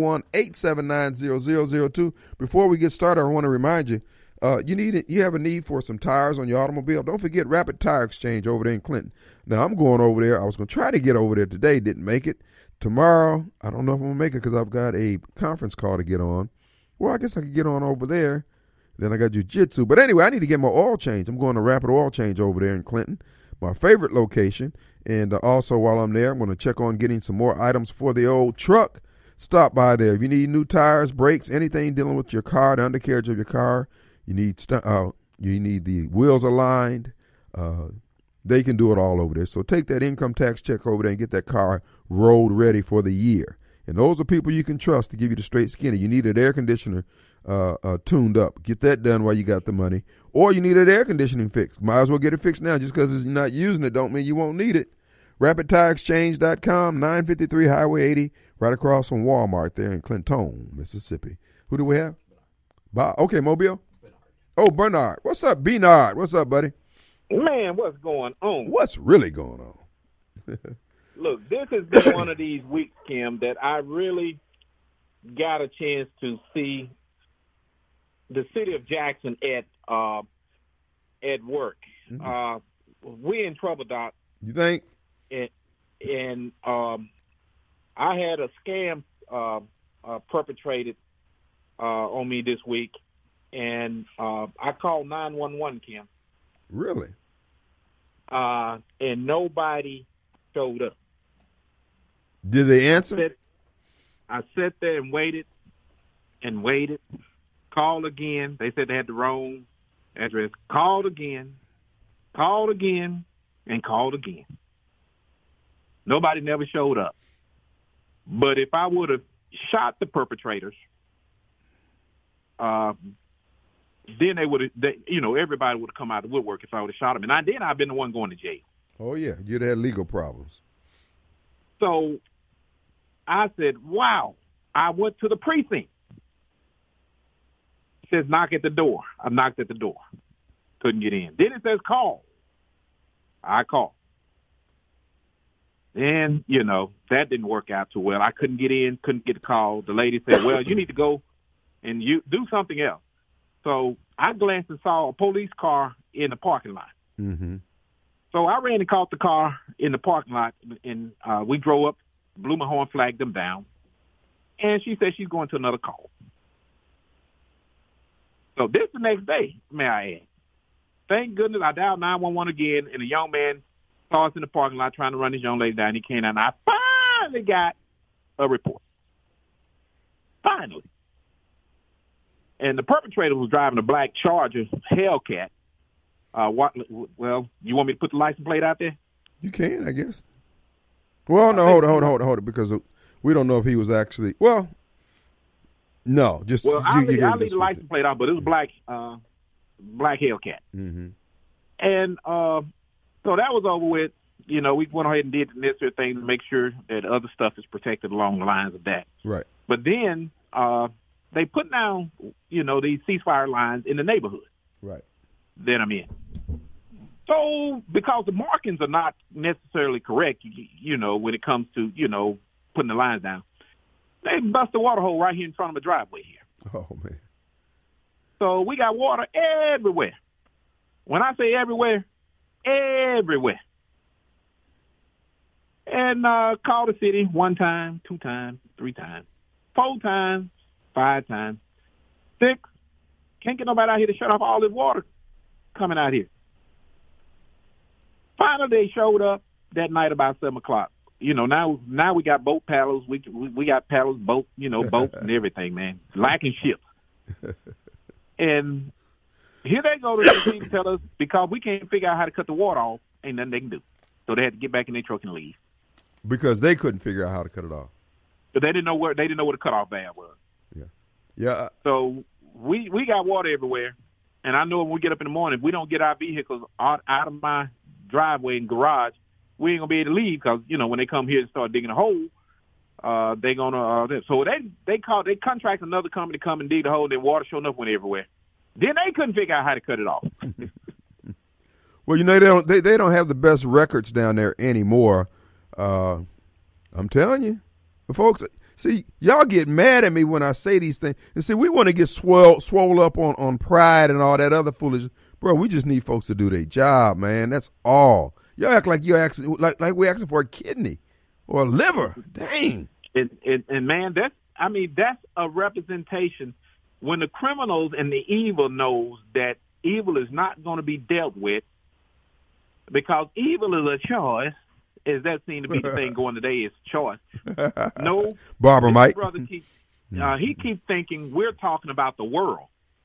601-879-0002. Before we get started, I want to remind you, you have a need for some tires on your automobile. Don't forget Rapid Tire Exchange over there in Clinton. Now, I'm going over there. I was going to try to get over there today. Didn't make it. Tomorrow, I don't know if I'm going to make it because I've got a conference call to get on. Well, I guess I could get on over there. Then I got jiu-jitsu. But anyway, I need to get my oil change. I'm going to Rapid Oil Change over there in Clinton, my favorite location. And also while I'm there, I'm going to check on getting some more items for the old truck. Stop by there. If you need new tires, brakes, anything dealing with your car, the undercarriage of your car, you need the wheels aligned. They can do it all over there. So take that income tax check over there and get that car road ready for the year. And those are people you can trust to give you the straight skinny. You need an air conditioner tuned up. Get that done while you got the money. Or you need an air conditioning fix. Might as well get it fixed now. Just because you're not using it don't mean you won't need it. RapidTireExchange.com, 953 Highway 80, right across from Walmart there in Clinton, Mississippi. Who do we have? Bob. Okay, Mobile. Bernard. Oh, Bernard. What's up, Bernard? What's up, buddy? Man, what's going on? What's really going on? Look, this has been one of these weeks, Kim, that I really got a chance to see the city of Jackson at work. Mm-hmm. We in trouble, Doc. You think? And I had a scam perpetrated on me this week, and I called 911, Kim. Really? And nobody showed up. Did they answer? I sat there and waited, called again. They said they had the wrong address. Called again, and called again. Nobody never showed up. But if I would have shot the perpetrators, then they would have, everybody would have come out of the woodwork if I would have shot them. And I've been the one going to jail. Oh, yeah. You'd have legal problems. So I said, wow. I went to the precinct. It says knock at the door. I knocked at the door. Couldn't get in. Then it says call. I called. And, that didn't work out too well. I couldn't get in, couldn't get a call. The lady said, well, you need to go and you do something else. So I glanced and saw a police car in the parking lot. Mm-hmm. So I ran and caught the car in the parking lot, and we drove up, blew my horn, flagged them down. And she said she's going to another call. So this the next day, may I add. Thank goodness I dialed 911 again, and a young man saw us in the parking lot trying to run this young lady down. He came out, and I finally got a report. Finally. And the perpetrator was driving a black Charger Hellcat. Well, you want me to put the license plate out there? You can, I guess. Well, no, hold on, because we don't know if he was actually. Well, No, just I'll leave the license plate out, but it was black Hellcat. Mm-hmm. And so that was over with. We went ahead and did the necessary things to make sure that other stuff is protected along the lines of that. Right. But then they put down, these ceasefire lines in the neighborhood. Right. That I'm in. So because the markings are not necessarily correct, when it comes to, putting the lines down, they bust a water hole right here in front of the driveway here. Oh, man. So we got water everywhere. When I say everywhere, everywhere. And call the city 1 time, 2 times, 3 times, 4 times, 5 times, 6. Can't get nobody out here to shut off all this water coming out here. Finally, they showed up that night about 7 o'clock. Now we got boat paddles. We got paddles, boats and everything, man. Lacking ships. And here they go to the city to tell us because we can't figure out how to cut the water off, ain't nothing they can do. So they had to get back in their truck and leave. Because they couldn't figure out how to cut it off. But they didn't know where the cutoff valve was. Yeah. Yeah. So we got water everywhere. And I know when we get up in the morning, if we don't get our vehicles out of my driveway and garage, we ain't going to be able to leave because, when they come here and start digging a hole, they're going to so they contract another company to come and dig the hole, and then water showing up went everywhere. Then they couldn't figure out how to cut it off. Well, they don't have the best records down there anymore. I'm telling you, folks. See, y'all get mad at me when I say these things, and see, we want to get swole up on pride and all that other foolishness, bro. We just need folks to do their job, man. That's all. Y'all act like you're asking, like we're asking for a kidney or a liver. Dang. And man, that's a representation. When the criminals and the evil knows that evil is not going to be dealt with, because evil is a choice, as that seems to be the thing going today, is choice. No, Barbara Mike. Brother he keeps thinking we're talking about the world.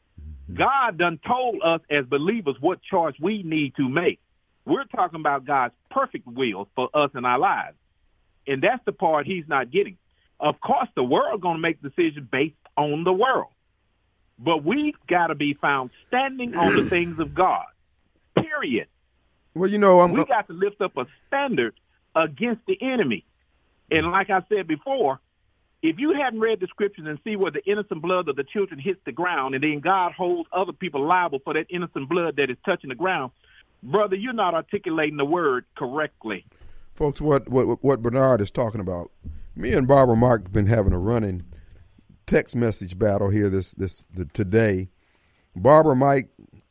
God done told us as believers what choice we need to make. We're talking about God's perfect will for us in our lives. And that's the part he's not getting. Of course, the world going to make decisions based on the world. But we've got to be found standing on the things of God, period. Well, we got to lift up a standard against the enemy. And like I said before, if you hadn't read the scriptures and see where the innocent blood of the children hits the ground, and then God holds other people liable for that innocent blood that is touching the ground, brother, you're not articulating the word correctly. Folks, what Bernard is talking about, me and Barbara Mark have been having a running text message battle here today. Barbara Mike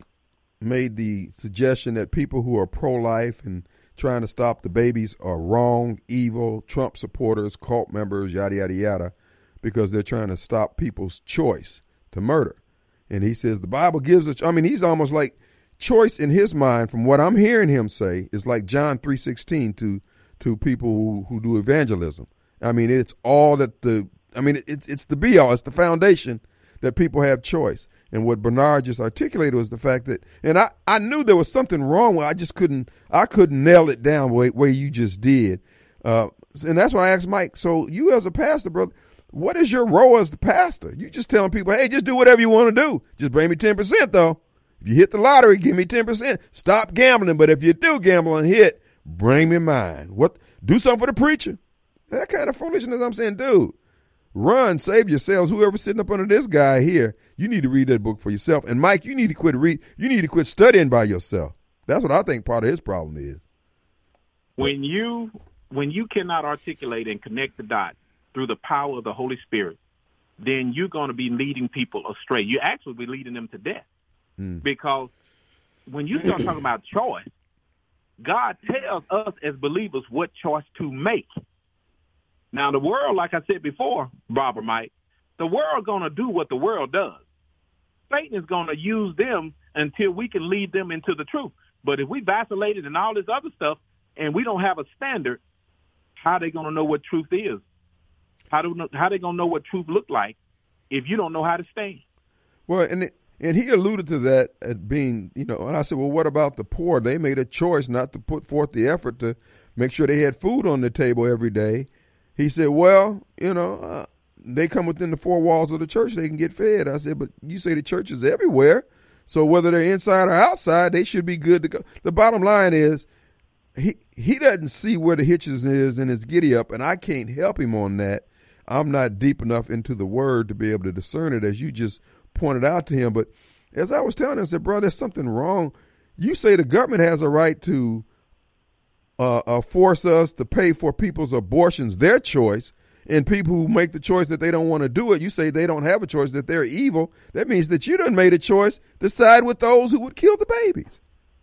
made the suggestion that people who are pro-life and trying to stop the babies are wrong, evil, Trump supporters, cult members, yada, yada, yada, because they're trying to stop people's choice to murder. And he says the Bible gives he's almost like choice in his mind, from what I'm hearing him say, is like John 3:16 to people who do evangelism. It's all that it's the be all, it's the foundation that people have choice. And what Bernard just articulated was the fact that, and I knew there was something wrong with it. I couldn't nail it down the way you just did. And that's why I asked Mike, so you as a pastor, brother, what is your role as the pastor? You just telling people, hey, just do whatever you want to do. Just bring me 10% though. If you hit the lottery, give me 10%. Stop gambling. But if you do gamble and hit, bring me mine. Do something for the preacher. That kind of foolishness. I'm saying, dude, run, save yourselves. Whoever's sitting up under this guy here, you need to read that book for yourself. And Mike, you need to quit studying by yourself. That's what I think part of his problem is. When you cannot articulate and connect the dots through the power of the Holy Spirit, then you're going to be leading people astray. You actually be leading them to death. Because when you start talking about choice, God tells us as believers what choice to make. Now, the world, like I said before, Barbara Mike, the world going to do what the world does. Satan is going to use them until we can lead them into the truth. But if we vacillated and all this other stuff and we don't have a standard, how are they going to know what truth is? How are they going to know what truth look like if you don't know how to stand? Well, and he alluded to that as being, and I said, well, what about the poor? They made a choice not to put forth the effort to make sure they had food on the table every day. He said, well, they come within the four walls of the church, they can get fed. I said, but you say the church is everywhere. So whether they're inside or outside, they should be good to go. The bottom line is he doesn't see where the hitches is in his giddy up, and I can't help him on that. I'm not deep enough into the word to be able to discern it, as you just pointed out to him. But as I was telling him, I said, bro, there's something wrong. You say the government has a right to force us to pay for people's abortions, their choice, and people who make the choice that they don't want to do it, you say they don't have a choice, that they're evil. That means that you done made a choice to side with those who would kill the babies.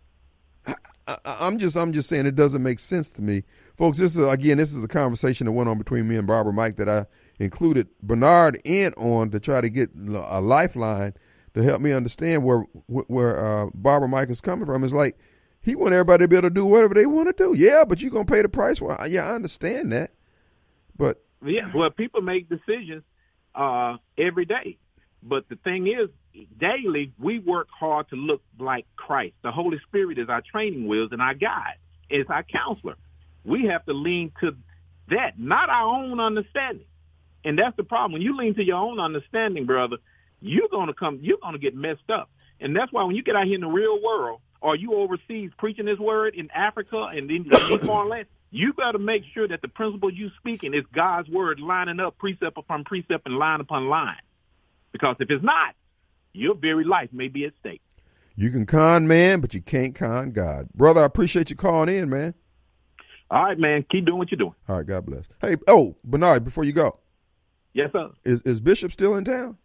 I'm just saying it doesn't make sense to me. Folks, this is a conversation that went on between me and Barbara Mike that I included Bernard in on to try to get a lifeline to help me understand where Barbara Mike is coming from. It's like he want everybody to be able to do whatever they want to do. Yeah, but you're going to pay the price for it. Yeah, I understand that. But yeah, well, people make decisions every day. But the thing is, daily, we work hard to look like Christ. The Holy Spirit is our training wheels and our guide. It's our counselor. We have to lean to that, not our own understanding. And that's the problem. When you lean to your own understanding, brother, you're going to get messed up. And that's why when you get out here in the real world, or you overseas preaching this word in Africa and in foreign lands, you got to make sure that the principle you speaking is God's word, lining up precept upon precept and line upon line. Because if it's not, your very life may be at stake. You can con man, but you can't con God. Brother, I appreciate you calling in, man. All right, man. Keep doing what you're doing. All right, God bless. Hey, Bernard, before you go. Yes, sir. Is Bishop still in town?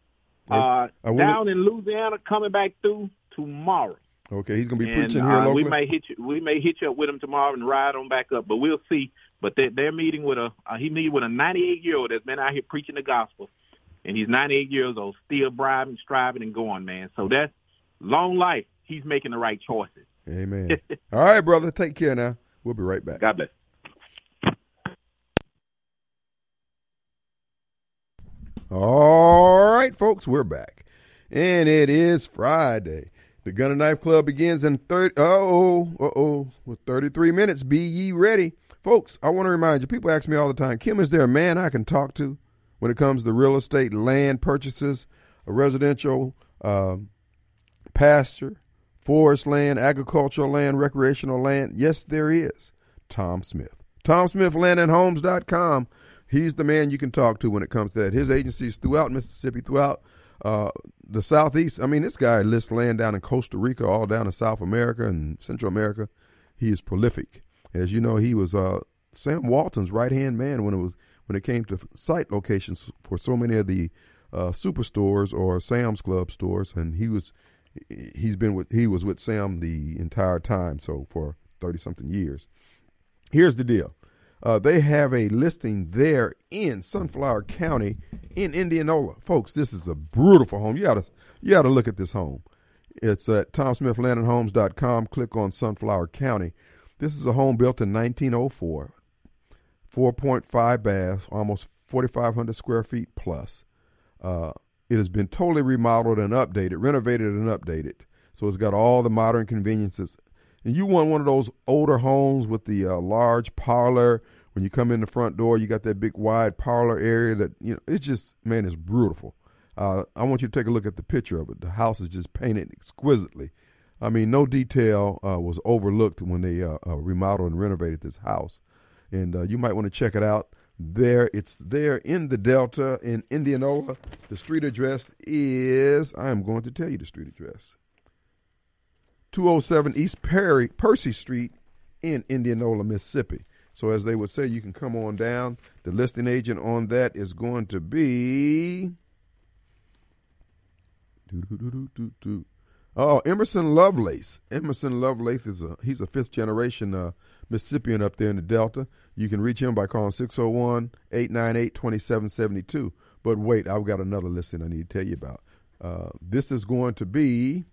Down in Louisiana, coming back through tomorrow. Okay, he's gonna be preaching here locally. We may hit you up with him tomorrow and ride on back up, but we'll see. But they're meeting with a 98-year-old that's been out here preaching the gospel, and he's 98 years old, still bribing, striving, and going, man. So that's long life. He's making the right choices. Amen. All right, brother. Take care now. We'll be right back. God bless. All right, folks, we're back, and it is Friday. The Gun and Knife Club begins in 33 minutes. Be ye ready. Folks, I want to remind you, people ask me all the time, Kim, is there a man I can talk to when it comes to real estate, land purchases, a residential, pasture, forest land, agricultural land, recreational land? Yes, there is. Tom Smith. TomSmithLandandHomes.com. He's the man you can talk to when it comes to that. His agency is throughout Mississippi, throughout the Southeast. I mean, this guy lists land down in Costa Rica, all down in South America and Central America. He is prolific. As you know, he was Sam Walton's right-hand man when it came to site locations for so many of the superstores or Sam's Club stores, and he was with Sam the entire time, so for 30-something years. Here's the deal. They have a listing there in Sunflower County in Indianola. Folks, this is a beautiful home. You ought to look at this home. It's at TomSmithLandandHomes.com. Click on Sunflower County. This is a home built in 1904, 4.5 baths, almost 4,500 square feet plus. It has been totally remodeled and updated, renovated and updated. So it's got all the modern conveniences. And you want one of those older homes with the large parlor. When you come in the front door, you got that big wide parlor area that, it's just, man, it's beautiful. I want you to take a look at the picture of it. The house is just painted exquisitely. I mean, no detail was overlooked when they remodeled and renovated this house. And you might want to check it out. It's there in the Delta in Indianola. The street address is, I am going to tell you the street address. 207 East Percy Street in Indianola, Mississippi. So as they would say, you can come on down. The listing agent on that is going to be Emerson Lovelace. Emerson Lovelace he's a fifth generation Mississippian up there in the Delta. You can reach him by calling 601-898-2772. But wait, I've got another listing I need to tell you about. This is going to be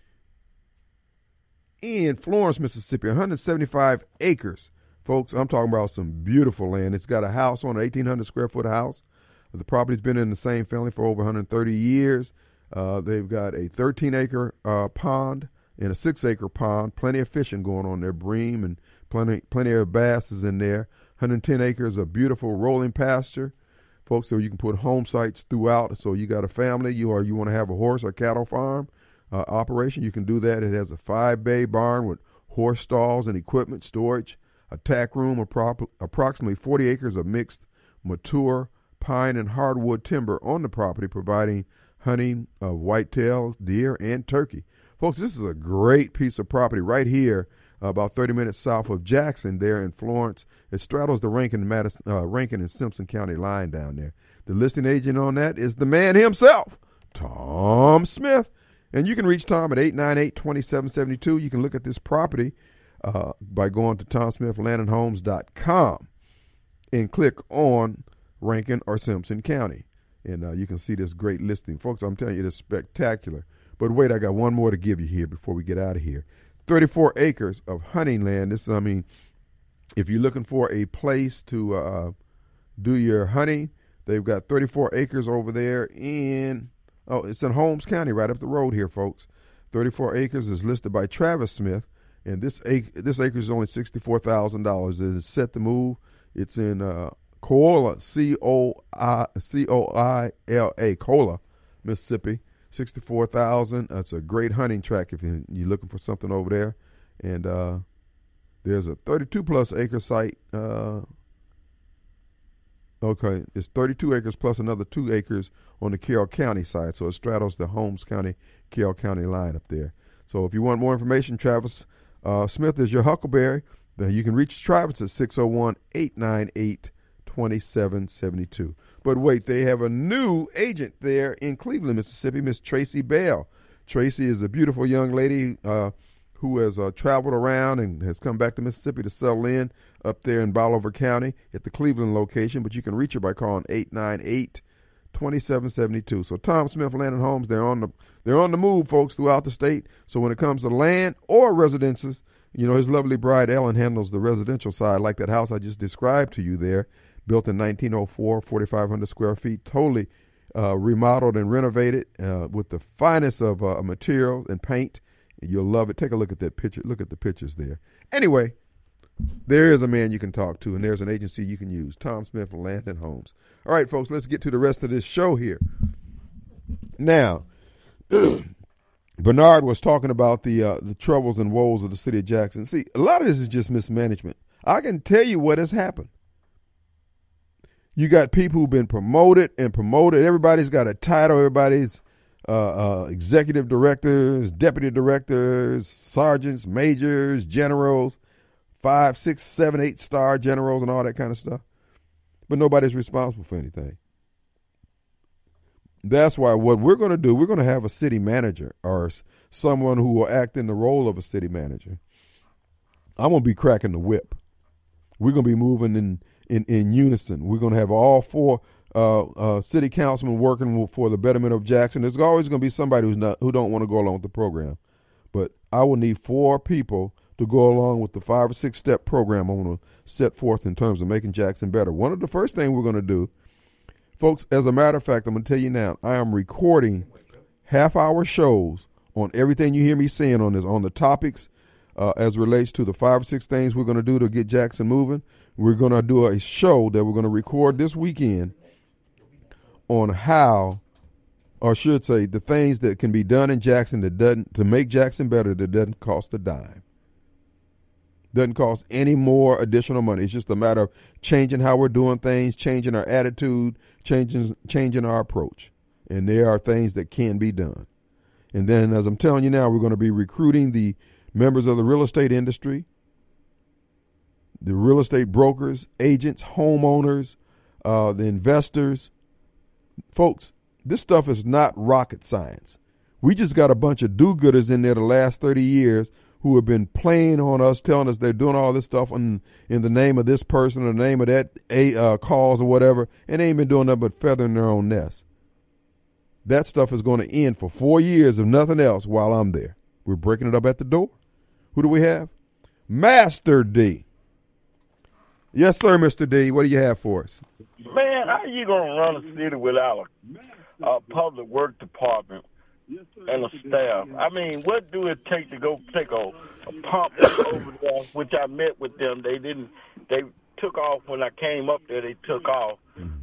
in Florence, Mississippi, 175 acres. Folks, I'm talking about some beautiful land. It's got a house on an 1,800 square foot house. The property's been in the same family for over 130 years. They've got a 13-acre pond and a 6-acre pond. Plenty of fishing going on there, bream, and plenty of bass is in there. 110 acres of beautiful rolling pasture. folks, so you can put home sites throughout. So you got a family, you want to have a horse or cattle farm operation, you can do that. It has a 5-bay barn with horse stalls and equipment storage, a tack room, approximately 40 acres of mixed mature pine and hardwood timber on the property, providing hunting of whitetail, deer, and turkey. Folks, this is a great piece of property right here, about 30 minutes south of Jackson there in Florence. It straddles the Rankin and Simpson County line down there. The listing agent on that is the man himself, Tom Smith. And you can reach Tom at 898-2772. You can look at this property by going to TomSmithLandandHomes.com and click on Rankin or Simpson County. And you can see this great listing. Folks, I'm telling you, it is spectacular. But wait, I got one more to give you here before we get out of here. 34 acres of hunting land. This, I mean, if you're looking for a place to do your hunting, they've got 34 acres over there it's in Holmes County, right up the road here, folks. 34 acres is listed by Travis Smith, and this acre is only $64,000. It is set to move. It's in Coila, C-O-I-L-A, Coila, Mississippi. 64,000. That's a great hunting track if you're looking for something over there. And there's a 32-plus acre site. Okay, it's 32 acres plus another 2 acres on the Carroll County side. So it straddles the Holmes County, Carroll County line up there. So if you want more information, Travis Smith is your huckleberry. Then you can reach Travis at 601-898-2772. But wait, they have a new agent there in Cleveland, Mississippi, Miss Tracy Bell. Tracy is a beautiful young lady who has traveled around and has come back to Mississippi to settle in up there in Bolivar County at the Cleveland location. But you can reach her by calling 898-2772. So Tom Smith Land and Homes, they're on the move, folks, throughout the state. So when it comes to land or residences, you know, his lovely bride Ellen handles the residential side, like that house I just described to you there. Built in 1904, 4,500 square feet, totally remodeled and renovated with the finest of material and paint. You'll love it. Take a look at that picture. Look at the pictures there. Anyway, there is a man you can talk to, and there's an agency you can use, Tom Smith Land and Homes. All right, folks, let's get to the rest of this show here. Now, Bernard was talking about the troubles and woes of the city of Jackson. See, a lot of this is just mismanagement. I can tell you what has happened. You got people who've been promoted. Everybody's got a title. Everybody's executive directors, deputy directors, sergeants, majors, generals, 5, 6, 7, 8-star generals and all that kind of stuff. But nobody's responsible for anything. That's why what we're going to do, we're going to have a city manager or someone who will act in the role of a city manager. I'm going to be cracking the whip. We're going to be moving in unison. We're going to have all 4 city councilmen working for the betterment of Jackson. There's always going to be somebody who don't want to go along with the program. But I will need 4 people to go along with the 5 or 6 step program I'm going to set forth in terms of making Jackson better. One of the first things we're going to do, folks, as a matter of fact, I'm going to tell you now, I am recording half-hour shows on everything you hear me saying on the topics as relates to the 5 or 6 things we're going to do to get Jackson moving. We're going to do a show that we're going to record this weekend on how, or I should say, the things that can be done in Jackson to make Jackson better that doesn't cost a dime. Doesn't cost any more additional money. It's just a matter of changing how we're doing things, changing our attitude, changing our approach. And there are things that can be done. And then, as I'm telling you now, we're going to be recruiting the members of the real estate industry, the real estate brokers, agents, homeowners, the investors. Folks, this stuff is not rocket science. We just got a bunch of do-gooders in there the last 30 years who have been playing on us, telling us they're doing all this stuff in the name of this person or the name of that cause or whatever, and they ain't been doing nothing but feathering their own nest. That stuff is going to end for 4 years, if nothing else, while I'm there. We're breaking it up at the door. Who do we have? Master D. Yes, sir, Mr. D. What do you have for us? Man, how you going to run a city without a public work department and a staff? I mean, what do it take to go take a pump over there, which I met with them. They took off when I came up there. They took off.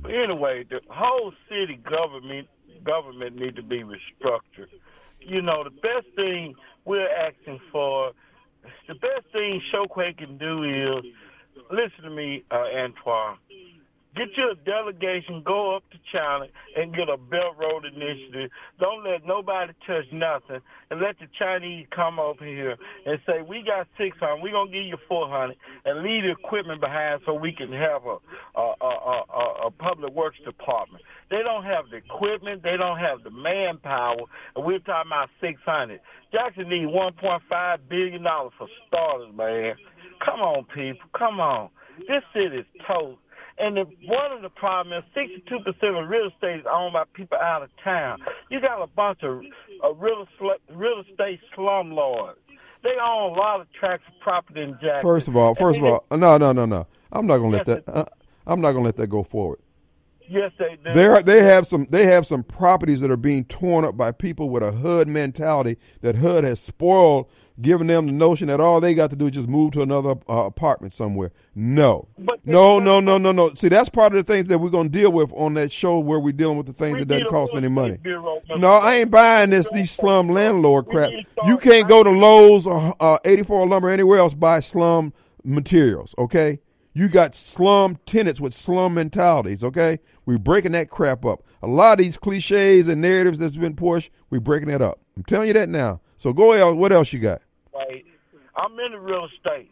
But anyway, the whole city government need to be restructured. You know, the best thing we're asking for, the best thing Chokwe can do is, listen to me, Antoine, get your delegation, go up to China and get a Belt Road Initiative. Don't let nobody touch nothing, and let the Chinese come over here and say, we got 600, we're going to give you 400, and leave the equipment behind so we can have a public works department. They don't have the equipment, they don't have the manpower, and we're talking about 600. Jackson needs $1.5 billion for starters, man. Come on, people, come on. This city is toast. And one of the problems is 62% of real estate is owned by people out of town. You got a bunch of real estate slumlords. They own a lot of tracts of property in Jackson. First of all, no. I'm not gonna let that. I'm not gonna let that go forward. Yes, they do. They have some properties that are being torn up by people with a HUD mentality that HUD has spoiled, giving them the notion that all they got to do is just move to another apartment somewhere. No. See, that's part of the things that we're going to deal with on that show where we're dealing with the things that doesn't cost any money. No, I ain't buying these slum landlord crap. You can't go to Lowe's or 84 Lumber or anywhere else buy slum materials, okay? You got slum tenants with slum mentalities, okay? We're breaking that crap up. A lot of these cliches and narratives that's been pushed, we're breaking that up. I'm telling you that now. So go ahead. What else you got? Right. I'm in the real estate.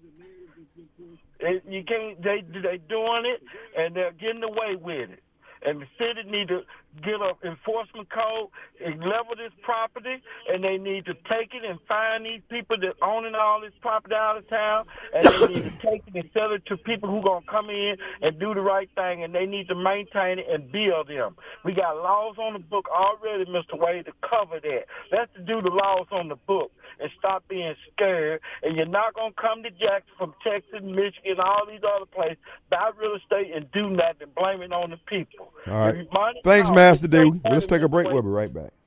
You can't. They doing it, and they're getting away with it. And the city need to get an enforcement code and level this property, and they need to take it and find these people that owning all this property out of town, and they need to take it and sell it to people who going to come in and do the right thing, and they need to maintain it and build them. We got laws on the book already, Mr. Wade, to cover that. Let's do the laws on the book and stop being scared, and you're not going to come to Jackson from Texas, Michigan, all these other places, buy real estate and do nothing, blame it on the people. All right. Thanks, Master D. Let's take a break. We'll be right back.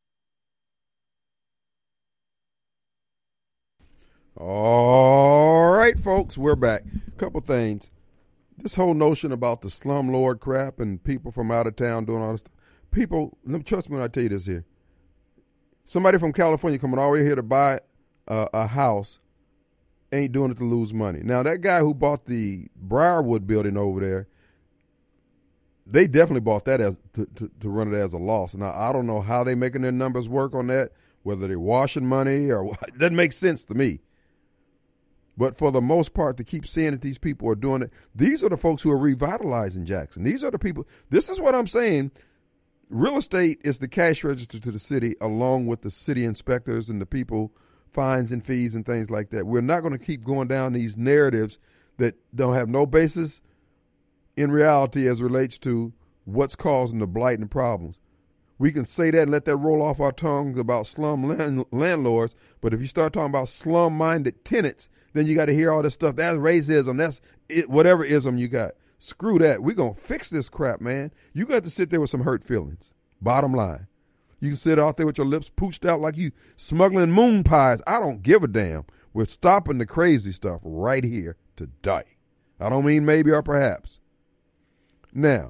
All right, folks, we're back. A couple things. This whole notion about the slumlord crap and people from out of town doing all this stuff. People, trust me when I tell you this here. Somebody from California coming all the way here to buy a house ain't doing it to lose money. Now, that guy who bought the Briarwood building over there, they definitely bought that as to run it as a loss. Now, I don't know how they making their numbers work on that, whether they're washing money or what. It doesn't make sense to me. But for the most part, to keep seeing that these people are doing it, these are the folks who are revitalizing Jackson. These are the people. This is what I'm saying. Real estate is the cash register to the city, along with the city inspectors and the people, fines and fees and things like that. We're not going to keep going down these narratives that don't have no basis in reality as relates to what's causing the blight and problems. We can say that and let that roll off our tongues about slum landlords, but if you start talking about slum-minded tenants, then you got to hear all this stuff. That's racism. That's it, whatever ism you got. Screw that. We're going to fix this crap, man. You got to sit there with some hurt feelings. Bottom line. You can sit out there with your lips pooched out like you smuggling moon pies. I don't give a damn. We're stopping the crazy stuff right here today. I don't mean maybe or perhaps. Now,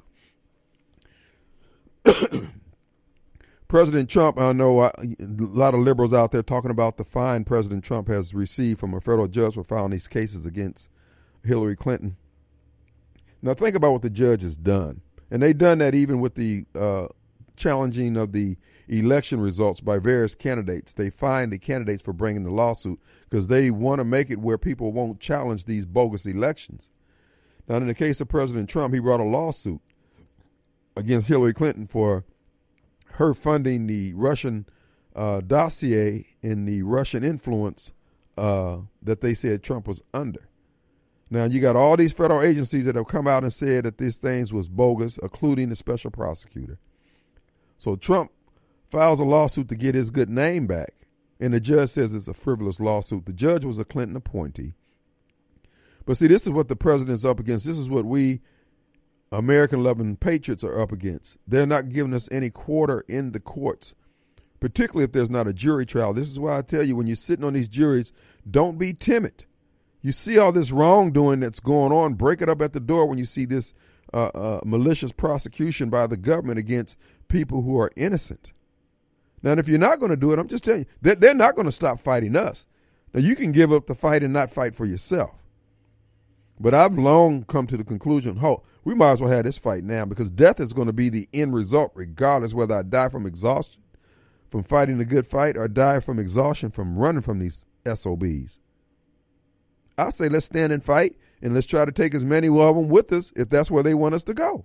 President Trump, I know a lot of liberals out there talking about the fine President Trump has received from a federal judge for filing these cases against Hillary Clinton. Now, think about what the judge has done. And they've done that even with the challenging of the election results by various candidates. They fined the candidates for bringing the lawsuit because they want to make it where people won't challenge these bogus elections. Now, in the case of President Trump, he brought a lawsuit against Hillary Clinton for her funding the Russian dossier and the Russian influence that they said Trump was under. Now, you got all these federal agencies that have come out and said that these things was bogus, including the special prosecutor. So Trump files a lawsuit to get his good name back, and the judge says it's a frivolous lawsuit. The judge was a Clinton appointee. But see, this is what the president's up against. This is what we American-loving patriots are up against. They're not giving us any quarter in the courts, particularly if there's not a jury trial. This is why I tell you, when you're sitting on these juries, don't be timid. You see all this wrongdoing that's going on, break it up at the door when you see this malicious prosecution by the government against people who are innocent. Now, if you're not going to do it, I'm just telling you, they're not going to stop fighting us. Now, you can give up the fight and not fight for yourself. But I've long come to the conclusion, we might as well have this fight now, because death is going to be the end result, regardless whether I die from exhaustion, from fighting the good fight, or die from exhaustion from running from these SOBs. I say let's stand and fight, and let's try to take as many of them with us if that's where they want us to go.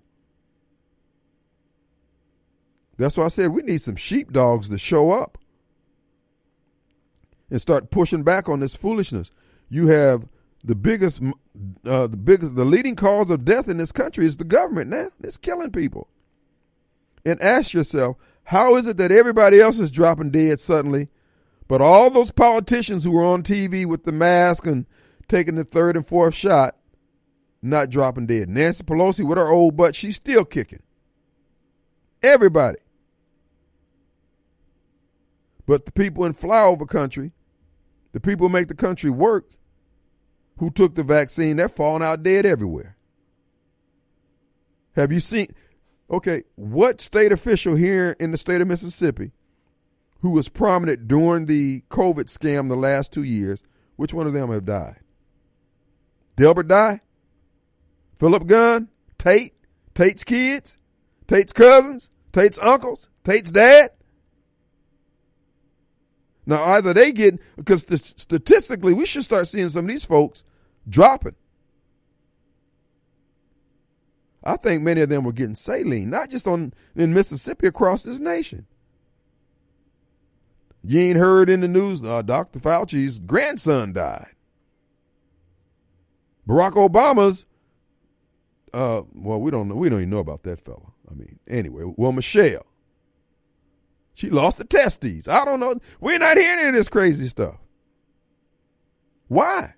That's why I said we need some sheepdogs to show up and start pushing back on this foolishness. You have the leading cause of death in this country is the government now. It's killing people. And ask yourself, how is it that everybody else is dropping dead suddenly, but all those politicians who are on TV with the mask and taking the third and fourth shot, not dropping dead? Nancy Pelosi with her old butt, she's still kicking. Everybody. But the people in flyover country, the people who make the country work, who took the vaccine, they're falling out dead everywhere. Have you seen, what state official here in the state of Mississippi who was prominent during the COVID scam the last 2 years, which one of them have died? Delbert died? Philip Gunn? Tate? Tate's kids? Tate's cousins? Tate's uncles? Tate's dad? Now, either they get, because statistically, we should start seeing some of these folks dropping. I think many of them were getting saline, not just in Mississippi, across this nation. You ain't heard in the news, Dr. Fauci's grandson died. Barack Obama's, we don't know. We don't even know about that fella. I mean, anyway, Michelle. She lost the testes. I don't know. We're not hearing any of this crazy stuff. Why?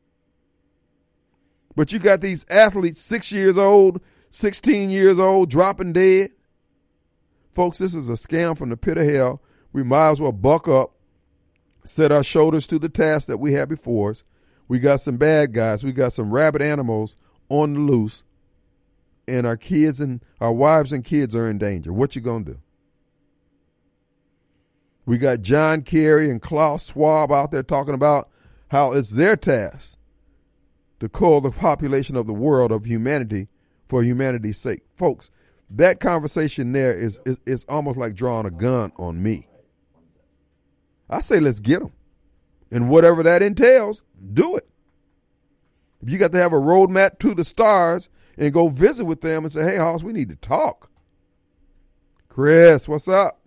But you got these athletes 6 years old, 16 years old, dropping dead. Folks, this is a scam from the pit of hell. We might as well buck up, set our shoulders to the task that we have before us. We got some bad guys. We got some rabid animals on the loose, and our kids and our wives and kids are in danger. What you gonna do? We got John Kerry and Klaus Schwab out there talking about how it's their task to cull the population of the world, of humanity, for humanity's sake. Folks, that conversation there is almost like drawing a gun on me. I say let's get them. And whatever that entails, do it. If you got to have a roadmap to the stars and go visit with them and say, hey, Hoss, we need to talk. Chris, what's up?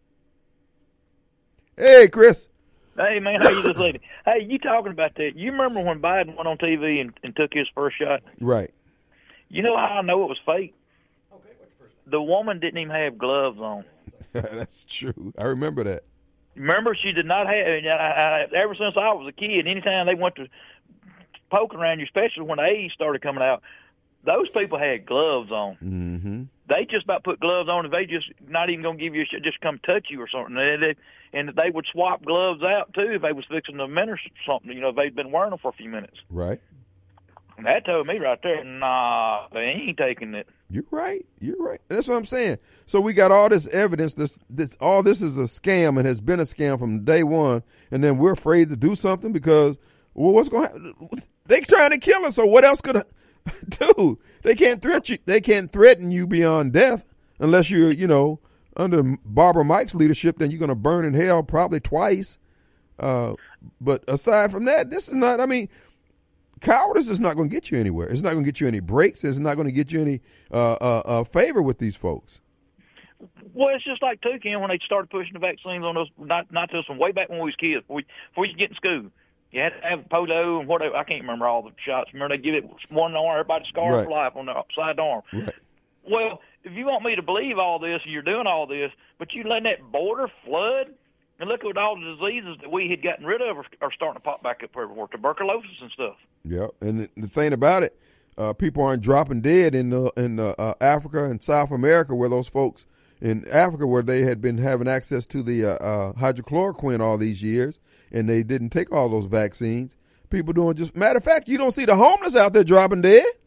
Hey, Chris. Hey, man, how you this lady? Hey, you talking about that. You remember when Biden went on TV and took his first shot? Right. You know how I know it was fake? The woman didn't even have gloves on. That's true. I remember that. Remember, she did not have, ever since I was a kid, anytime they went to poking around you, especially when the AIDS started coming out, those people had gloves on. Mm-hmm. They just about put gloves on, and they just not even going to give you a shit, just come touch you or something. And they would swap gloves out, too, if they was fixing to administer something, if they'd been wearing them for a few minutes. Right. And that told me right there, nah, they ain't taking it. You're right. That's what I'm saying. So we got all this evidence. All this is a scam and has been a scam from day one. And then we're afraid to do something because, well, what's going to happen? They trying to kill us. So what else could I do? They can't threaten you. They can't threaten you beyond death unless you're, under Barbara Mike's leadership. Then you're going to burn in hell probably twice. But aside from that, this is not. I mean, cowardice is not going to get you anywhere. It's not going to get you any breaks. It's not going to get you any favor with these folks. Well, it's just like Ken, when they started pushing the vaccines on us, not to us from way back when we was kids, before you get in school. You had to have polio and whatever. I can't remember all the shots. Remember, they give it one arm, everybody scarred for life on the side arm. Right. Well, if you want me to believe all this and you're doing all this, but you letting that border flood, and look at all the diseases that we had gotten rid of are starting to pop back up everywhere, tuberculosis and stuff. Yeah, and the thing about it, people aren't dropping dead in Africa and South America, where those folks in Africa, where they had been having access to the hydrochloroquine all these years, and they didn't take all those vaccines. People doing matter of fact, you don't see the homeless out there dropping dead.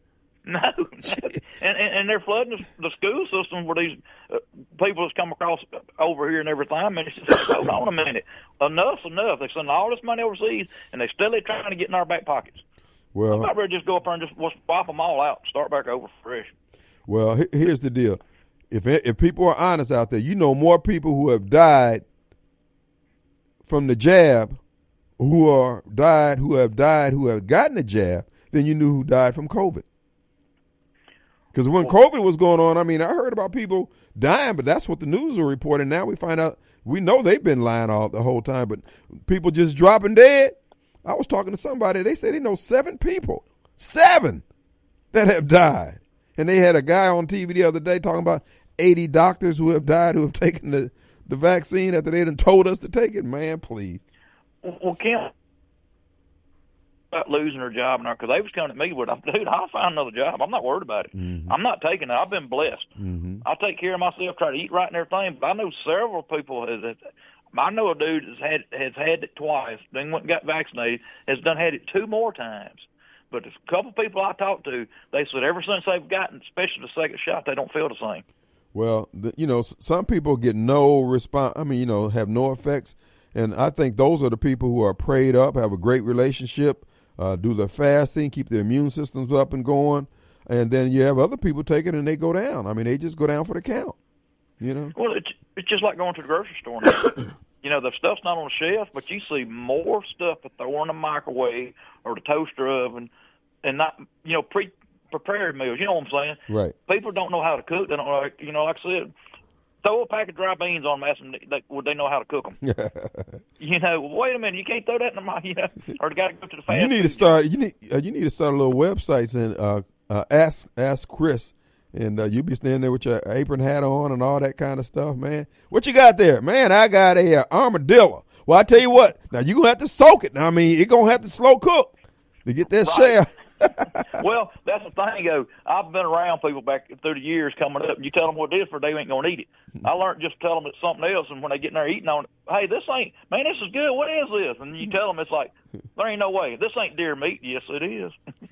No. and they're flooding the school system where these people that's come across over here and everything. I mean, it's just, hold on a minute. Enough's enough. They send all this money overseas, and they're still trying to get in our back pockets. Well, I'd rather just go up there and just wipe them all out and start back over fresh. Well, here's the deal. If people are honest out there, you know more people who have died from the jab who have gotten the jab than you knew who died from COVID. Because when COVID was going on, I mean, I heard about people dying, but that's what the news are reporting. Now we find out, we know they've been lying the whole time, but people just dropping dead. I was talking to somebody, they said they know 7 people, 7 that have died. And they had a guy on TV the other day talking about 80 doctors who have died who have taken the vaccine after they done told us to take it. Man, please. Well, Kim, about losing her job now, because they was coming at me with, dude, I'll find another job. I'm not worried about it. Mm-hmm. I'm not taking it. I've been blessed. Mm-hmm. I take care of myself, try to eat right and everything. But I know several people. I know a dude has had it twice, then went and got vaccinated, has had it 2 more times. But a couple of people I talked to, they said ever since they've gotten, especially the second shot, they don't feel the same. Well, some people get no response. I mean, have no effects. And I think those are the people who are prayed up, have a great relationship, do their fasting, keep their immune systems up and going. And then you have other people take it and they go down. I mean, they just go down for the count, Well, it's just like going to the grocery store now. The stuff's not on the shelf, but you see more stuff that throw in the microwave or the toaster oven and not, prepared meals. You know what I'm saying? Right. People don't know how to cook. They don't like I said, throw a pack of dry beans on them, ask them would they know how to cook them. Wait a minute, you can't throw that in the microwave, or they got to go to the fast You need to start. You need to start a little websites and ask Chris, and you be standing there with your apron hat on and all that kind of stuff, man. What you got there, man? I got a armadillo. Well, I tell you what. Now you gonna have to soak it. Now, I mean, it gonna have to slow cook to get that shell. Well, that's the thing. I've been around people back through the years coming up, and you tell them what it is for they ain't going to eat it. I learned just to tell them it's something else, and when they get in there eating on it, hey, this is good. What is this? And you tell them it's like, there ain't no way. This ain't deer meat. Yes, it is.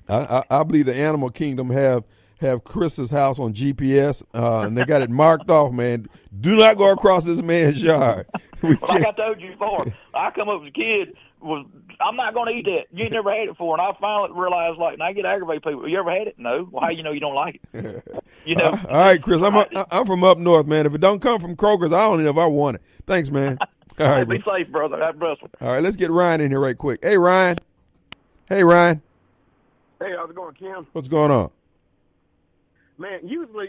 I believe the animal kingdom have Chris's house on GPS, and they got it marked off, man. Do not go across this man's yard. Like I told you before, I come up as a kid, I'm not going to eat that. You ain't never had it before. And I finally realized, and I get aggravated people. You ever had it? No. Well, how you know you don't like it? All right, Chris, I'm from up north, man. If it don't come from Kroger's, I don't know if I want it. Thanks, man. All right, be safe, brother. Have a All right, let's get Ryan in here right quick. Hey, Ryan. Hey, Ryan. Hey, how's it going, Kim? What's going on? Man, usually,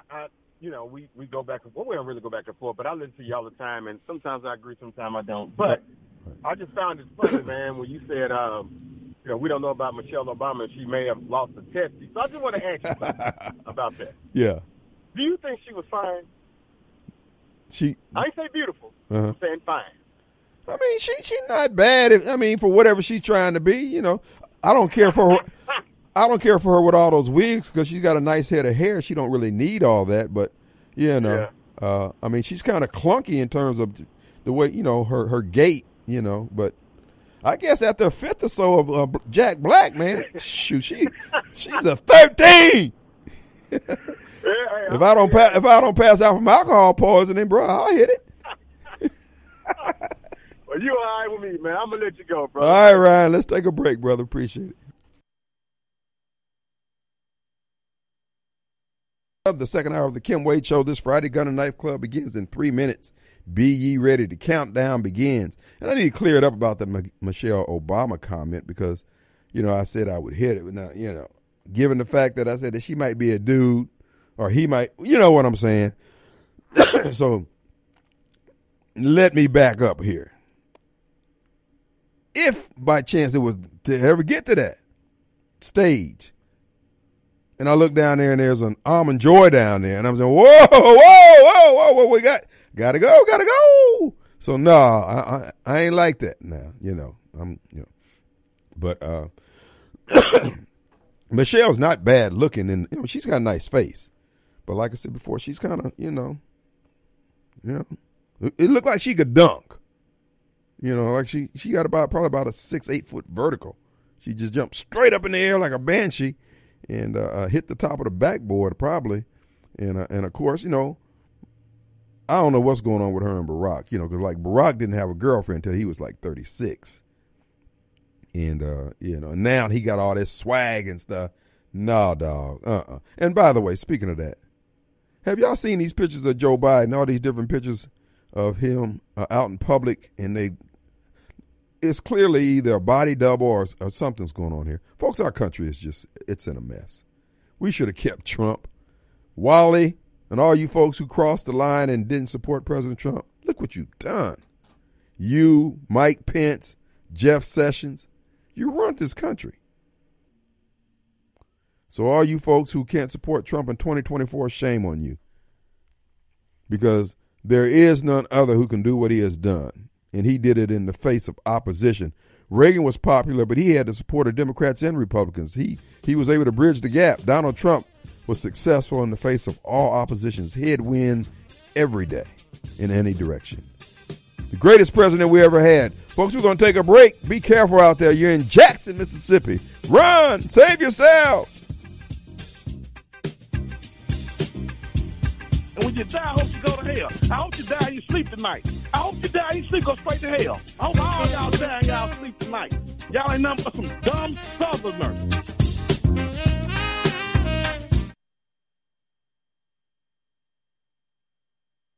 we go back and forth. We don't really go back and forth, but I listen to you all the time, and sometimes I agree, sometimes I don't. But I just found it funny, man, when you said, we don't know about Michelle Obama, and she may have lost a testy. So I just want to ask you about that. Yeah. Do you think she was fine? I ain't say beautiful. I'm saying fine. I mean, she's not bad. For whatever she's trying to be, I don't care for her. I don't care for her with all those wigs because she's got a nice head of hair. She don't really need all that, but she's kind of clunky in terms of the way her gait, But I guess after a fifth or so of Jack Black, man, shoot, she's a 13. If I don't pass out from alcohol poisoning, bro, I'll hit it. Well, you all right with me, man. I'm gonna let you go, bro. All right, Ryan, let's take a break, brother. Appreciate it. The second hour of the Kim Wade Show this Friday. Gun and Knife Club begins in 3 minutes. Be ye ready. The countdown begins. And I need to clear it up about the Michelle Obama comment because, I said I would hit it. But now, given the fact that I said that she might be a dude or he might, you know what I'm saying? So let me back up here. If by chance it was to ever get to that stage, and I look down there and there's an Almond Joy down there, and I'm saying, whoa, we gotta go. So no, I ain't like that now, But Michelle's not bad looking, and she's got a nice face. But like I said before, she's kind of, it looked like she could dunk. Like she got probably about a 6-8 foot vertical. She just jumped straight up in the air like a banshee. and hit the top of the backboard probably. And of course, you know, I don't know what's going on with her and Barack, you know, because like Barack didn't have a girlfriend until he was like 36. And, you know, now he got all this swag and stuff. No, dog. And by the way, speaking of that, have y'all seen these pictures of Joe Biden, all these different pictures of him out in public, and it's clearly either a body double or something's going on here. Folks, our country is it's in a mess. We should have kept Trump. Wally and all you folks who crossed the line and didn't support President Trump, look what you've done. You, Mike Pence, Jeff Sessions, you run this country. So all you folks who can't support Trump in 2024, shame on you. Because there is none other who can do what he has done. And he did it in the face of opposition. Reagan was popular, but he had the support of Democrats and Republicans. He was able to bridge the gap. Donald Trump was successful in the face of all opposition's headwind every day in any direction. The greatest president we ever had. Folks, we're going to take a break. Be careful out there. You're in Jackson, Mississippi. Run! Save yourselves! And when you die, I hope you go to hell. I hope you die and you sleep tonight. I hope you die and you sleep, go straight to hell. I hope all y'all die and y'all sleep tonight. Y'all ain't nothing but some dumb southerners.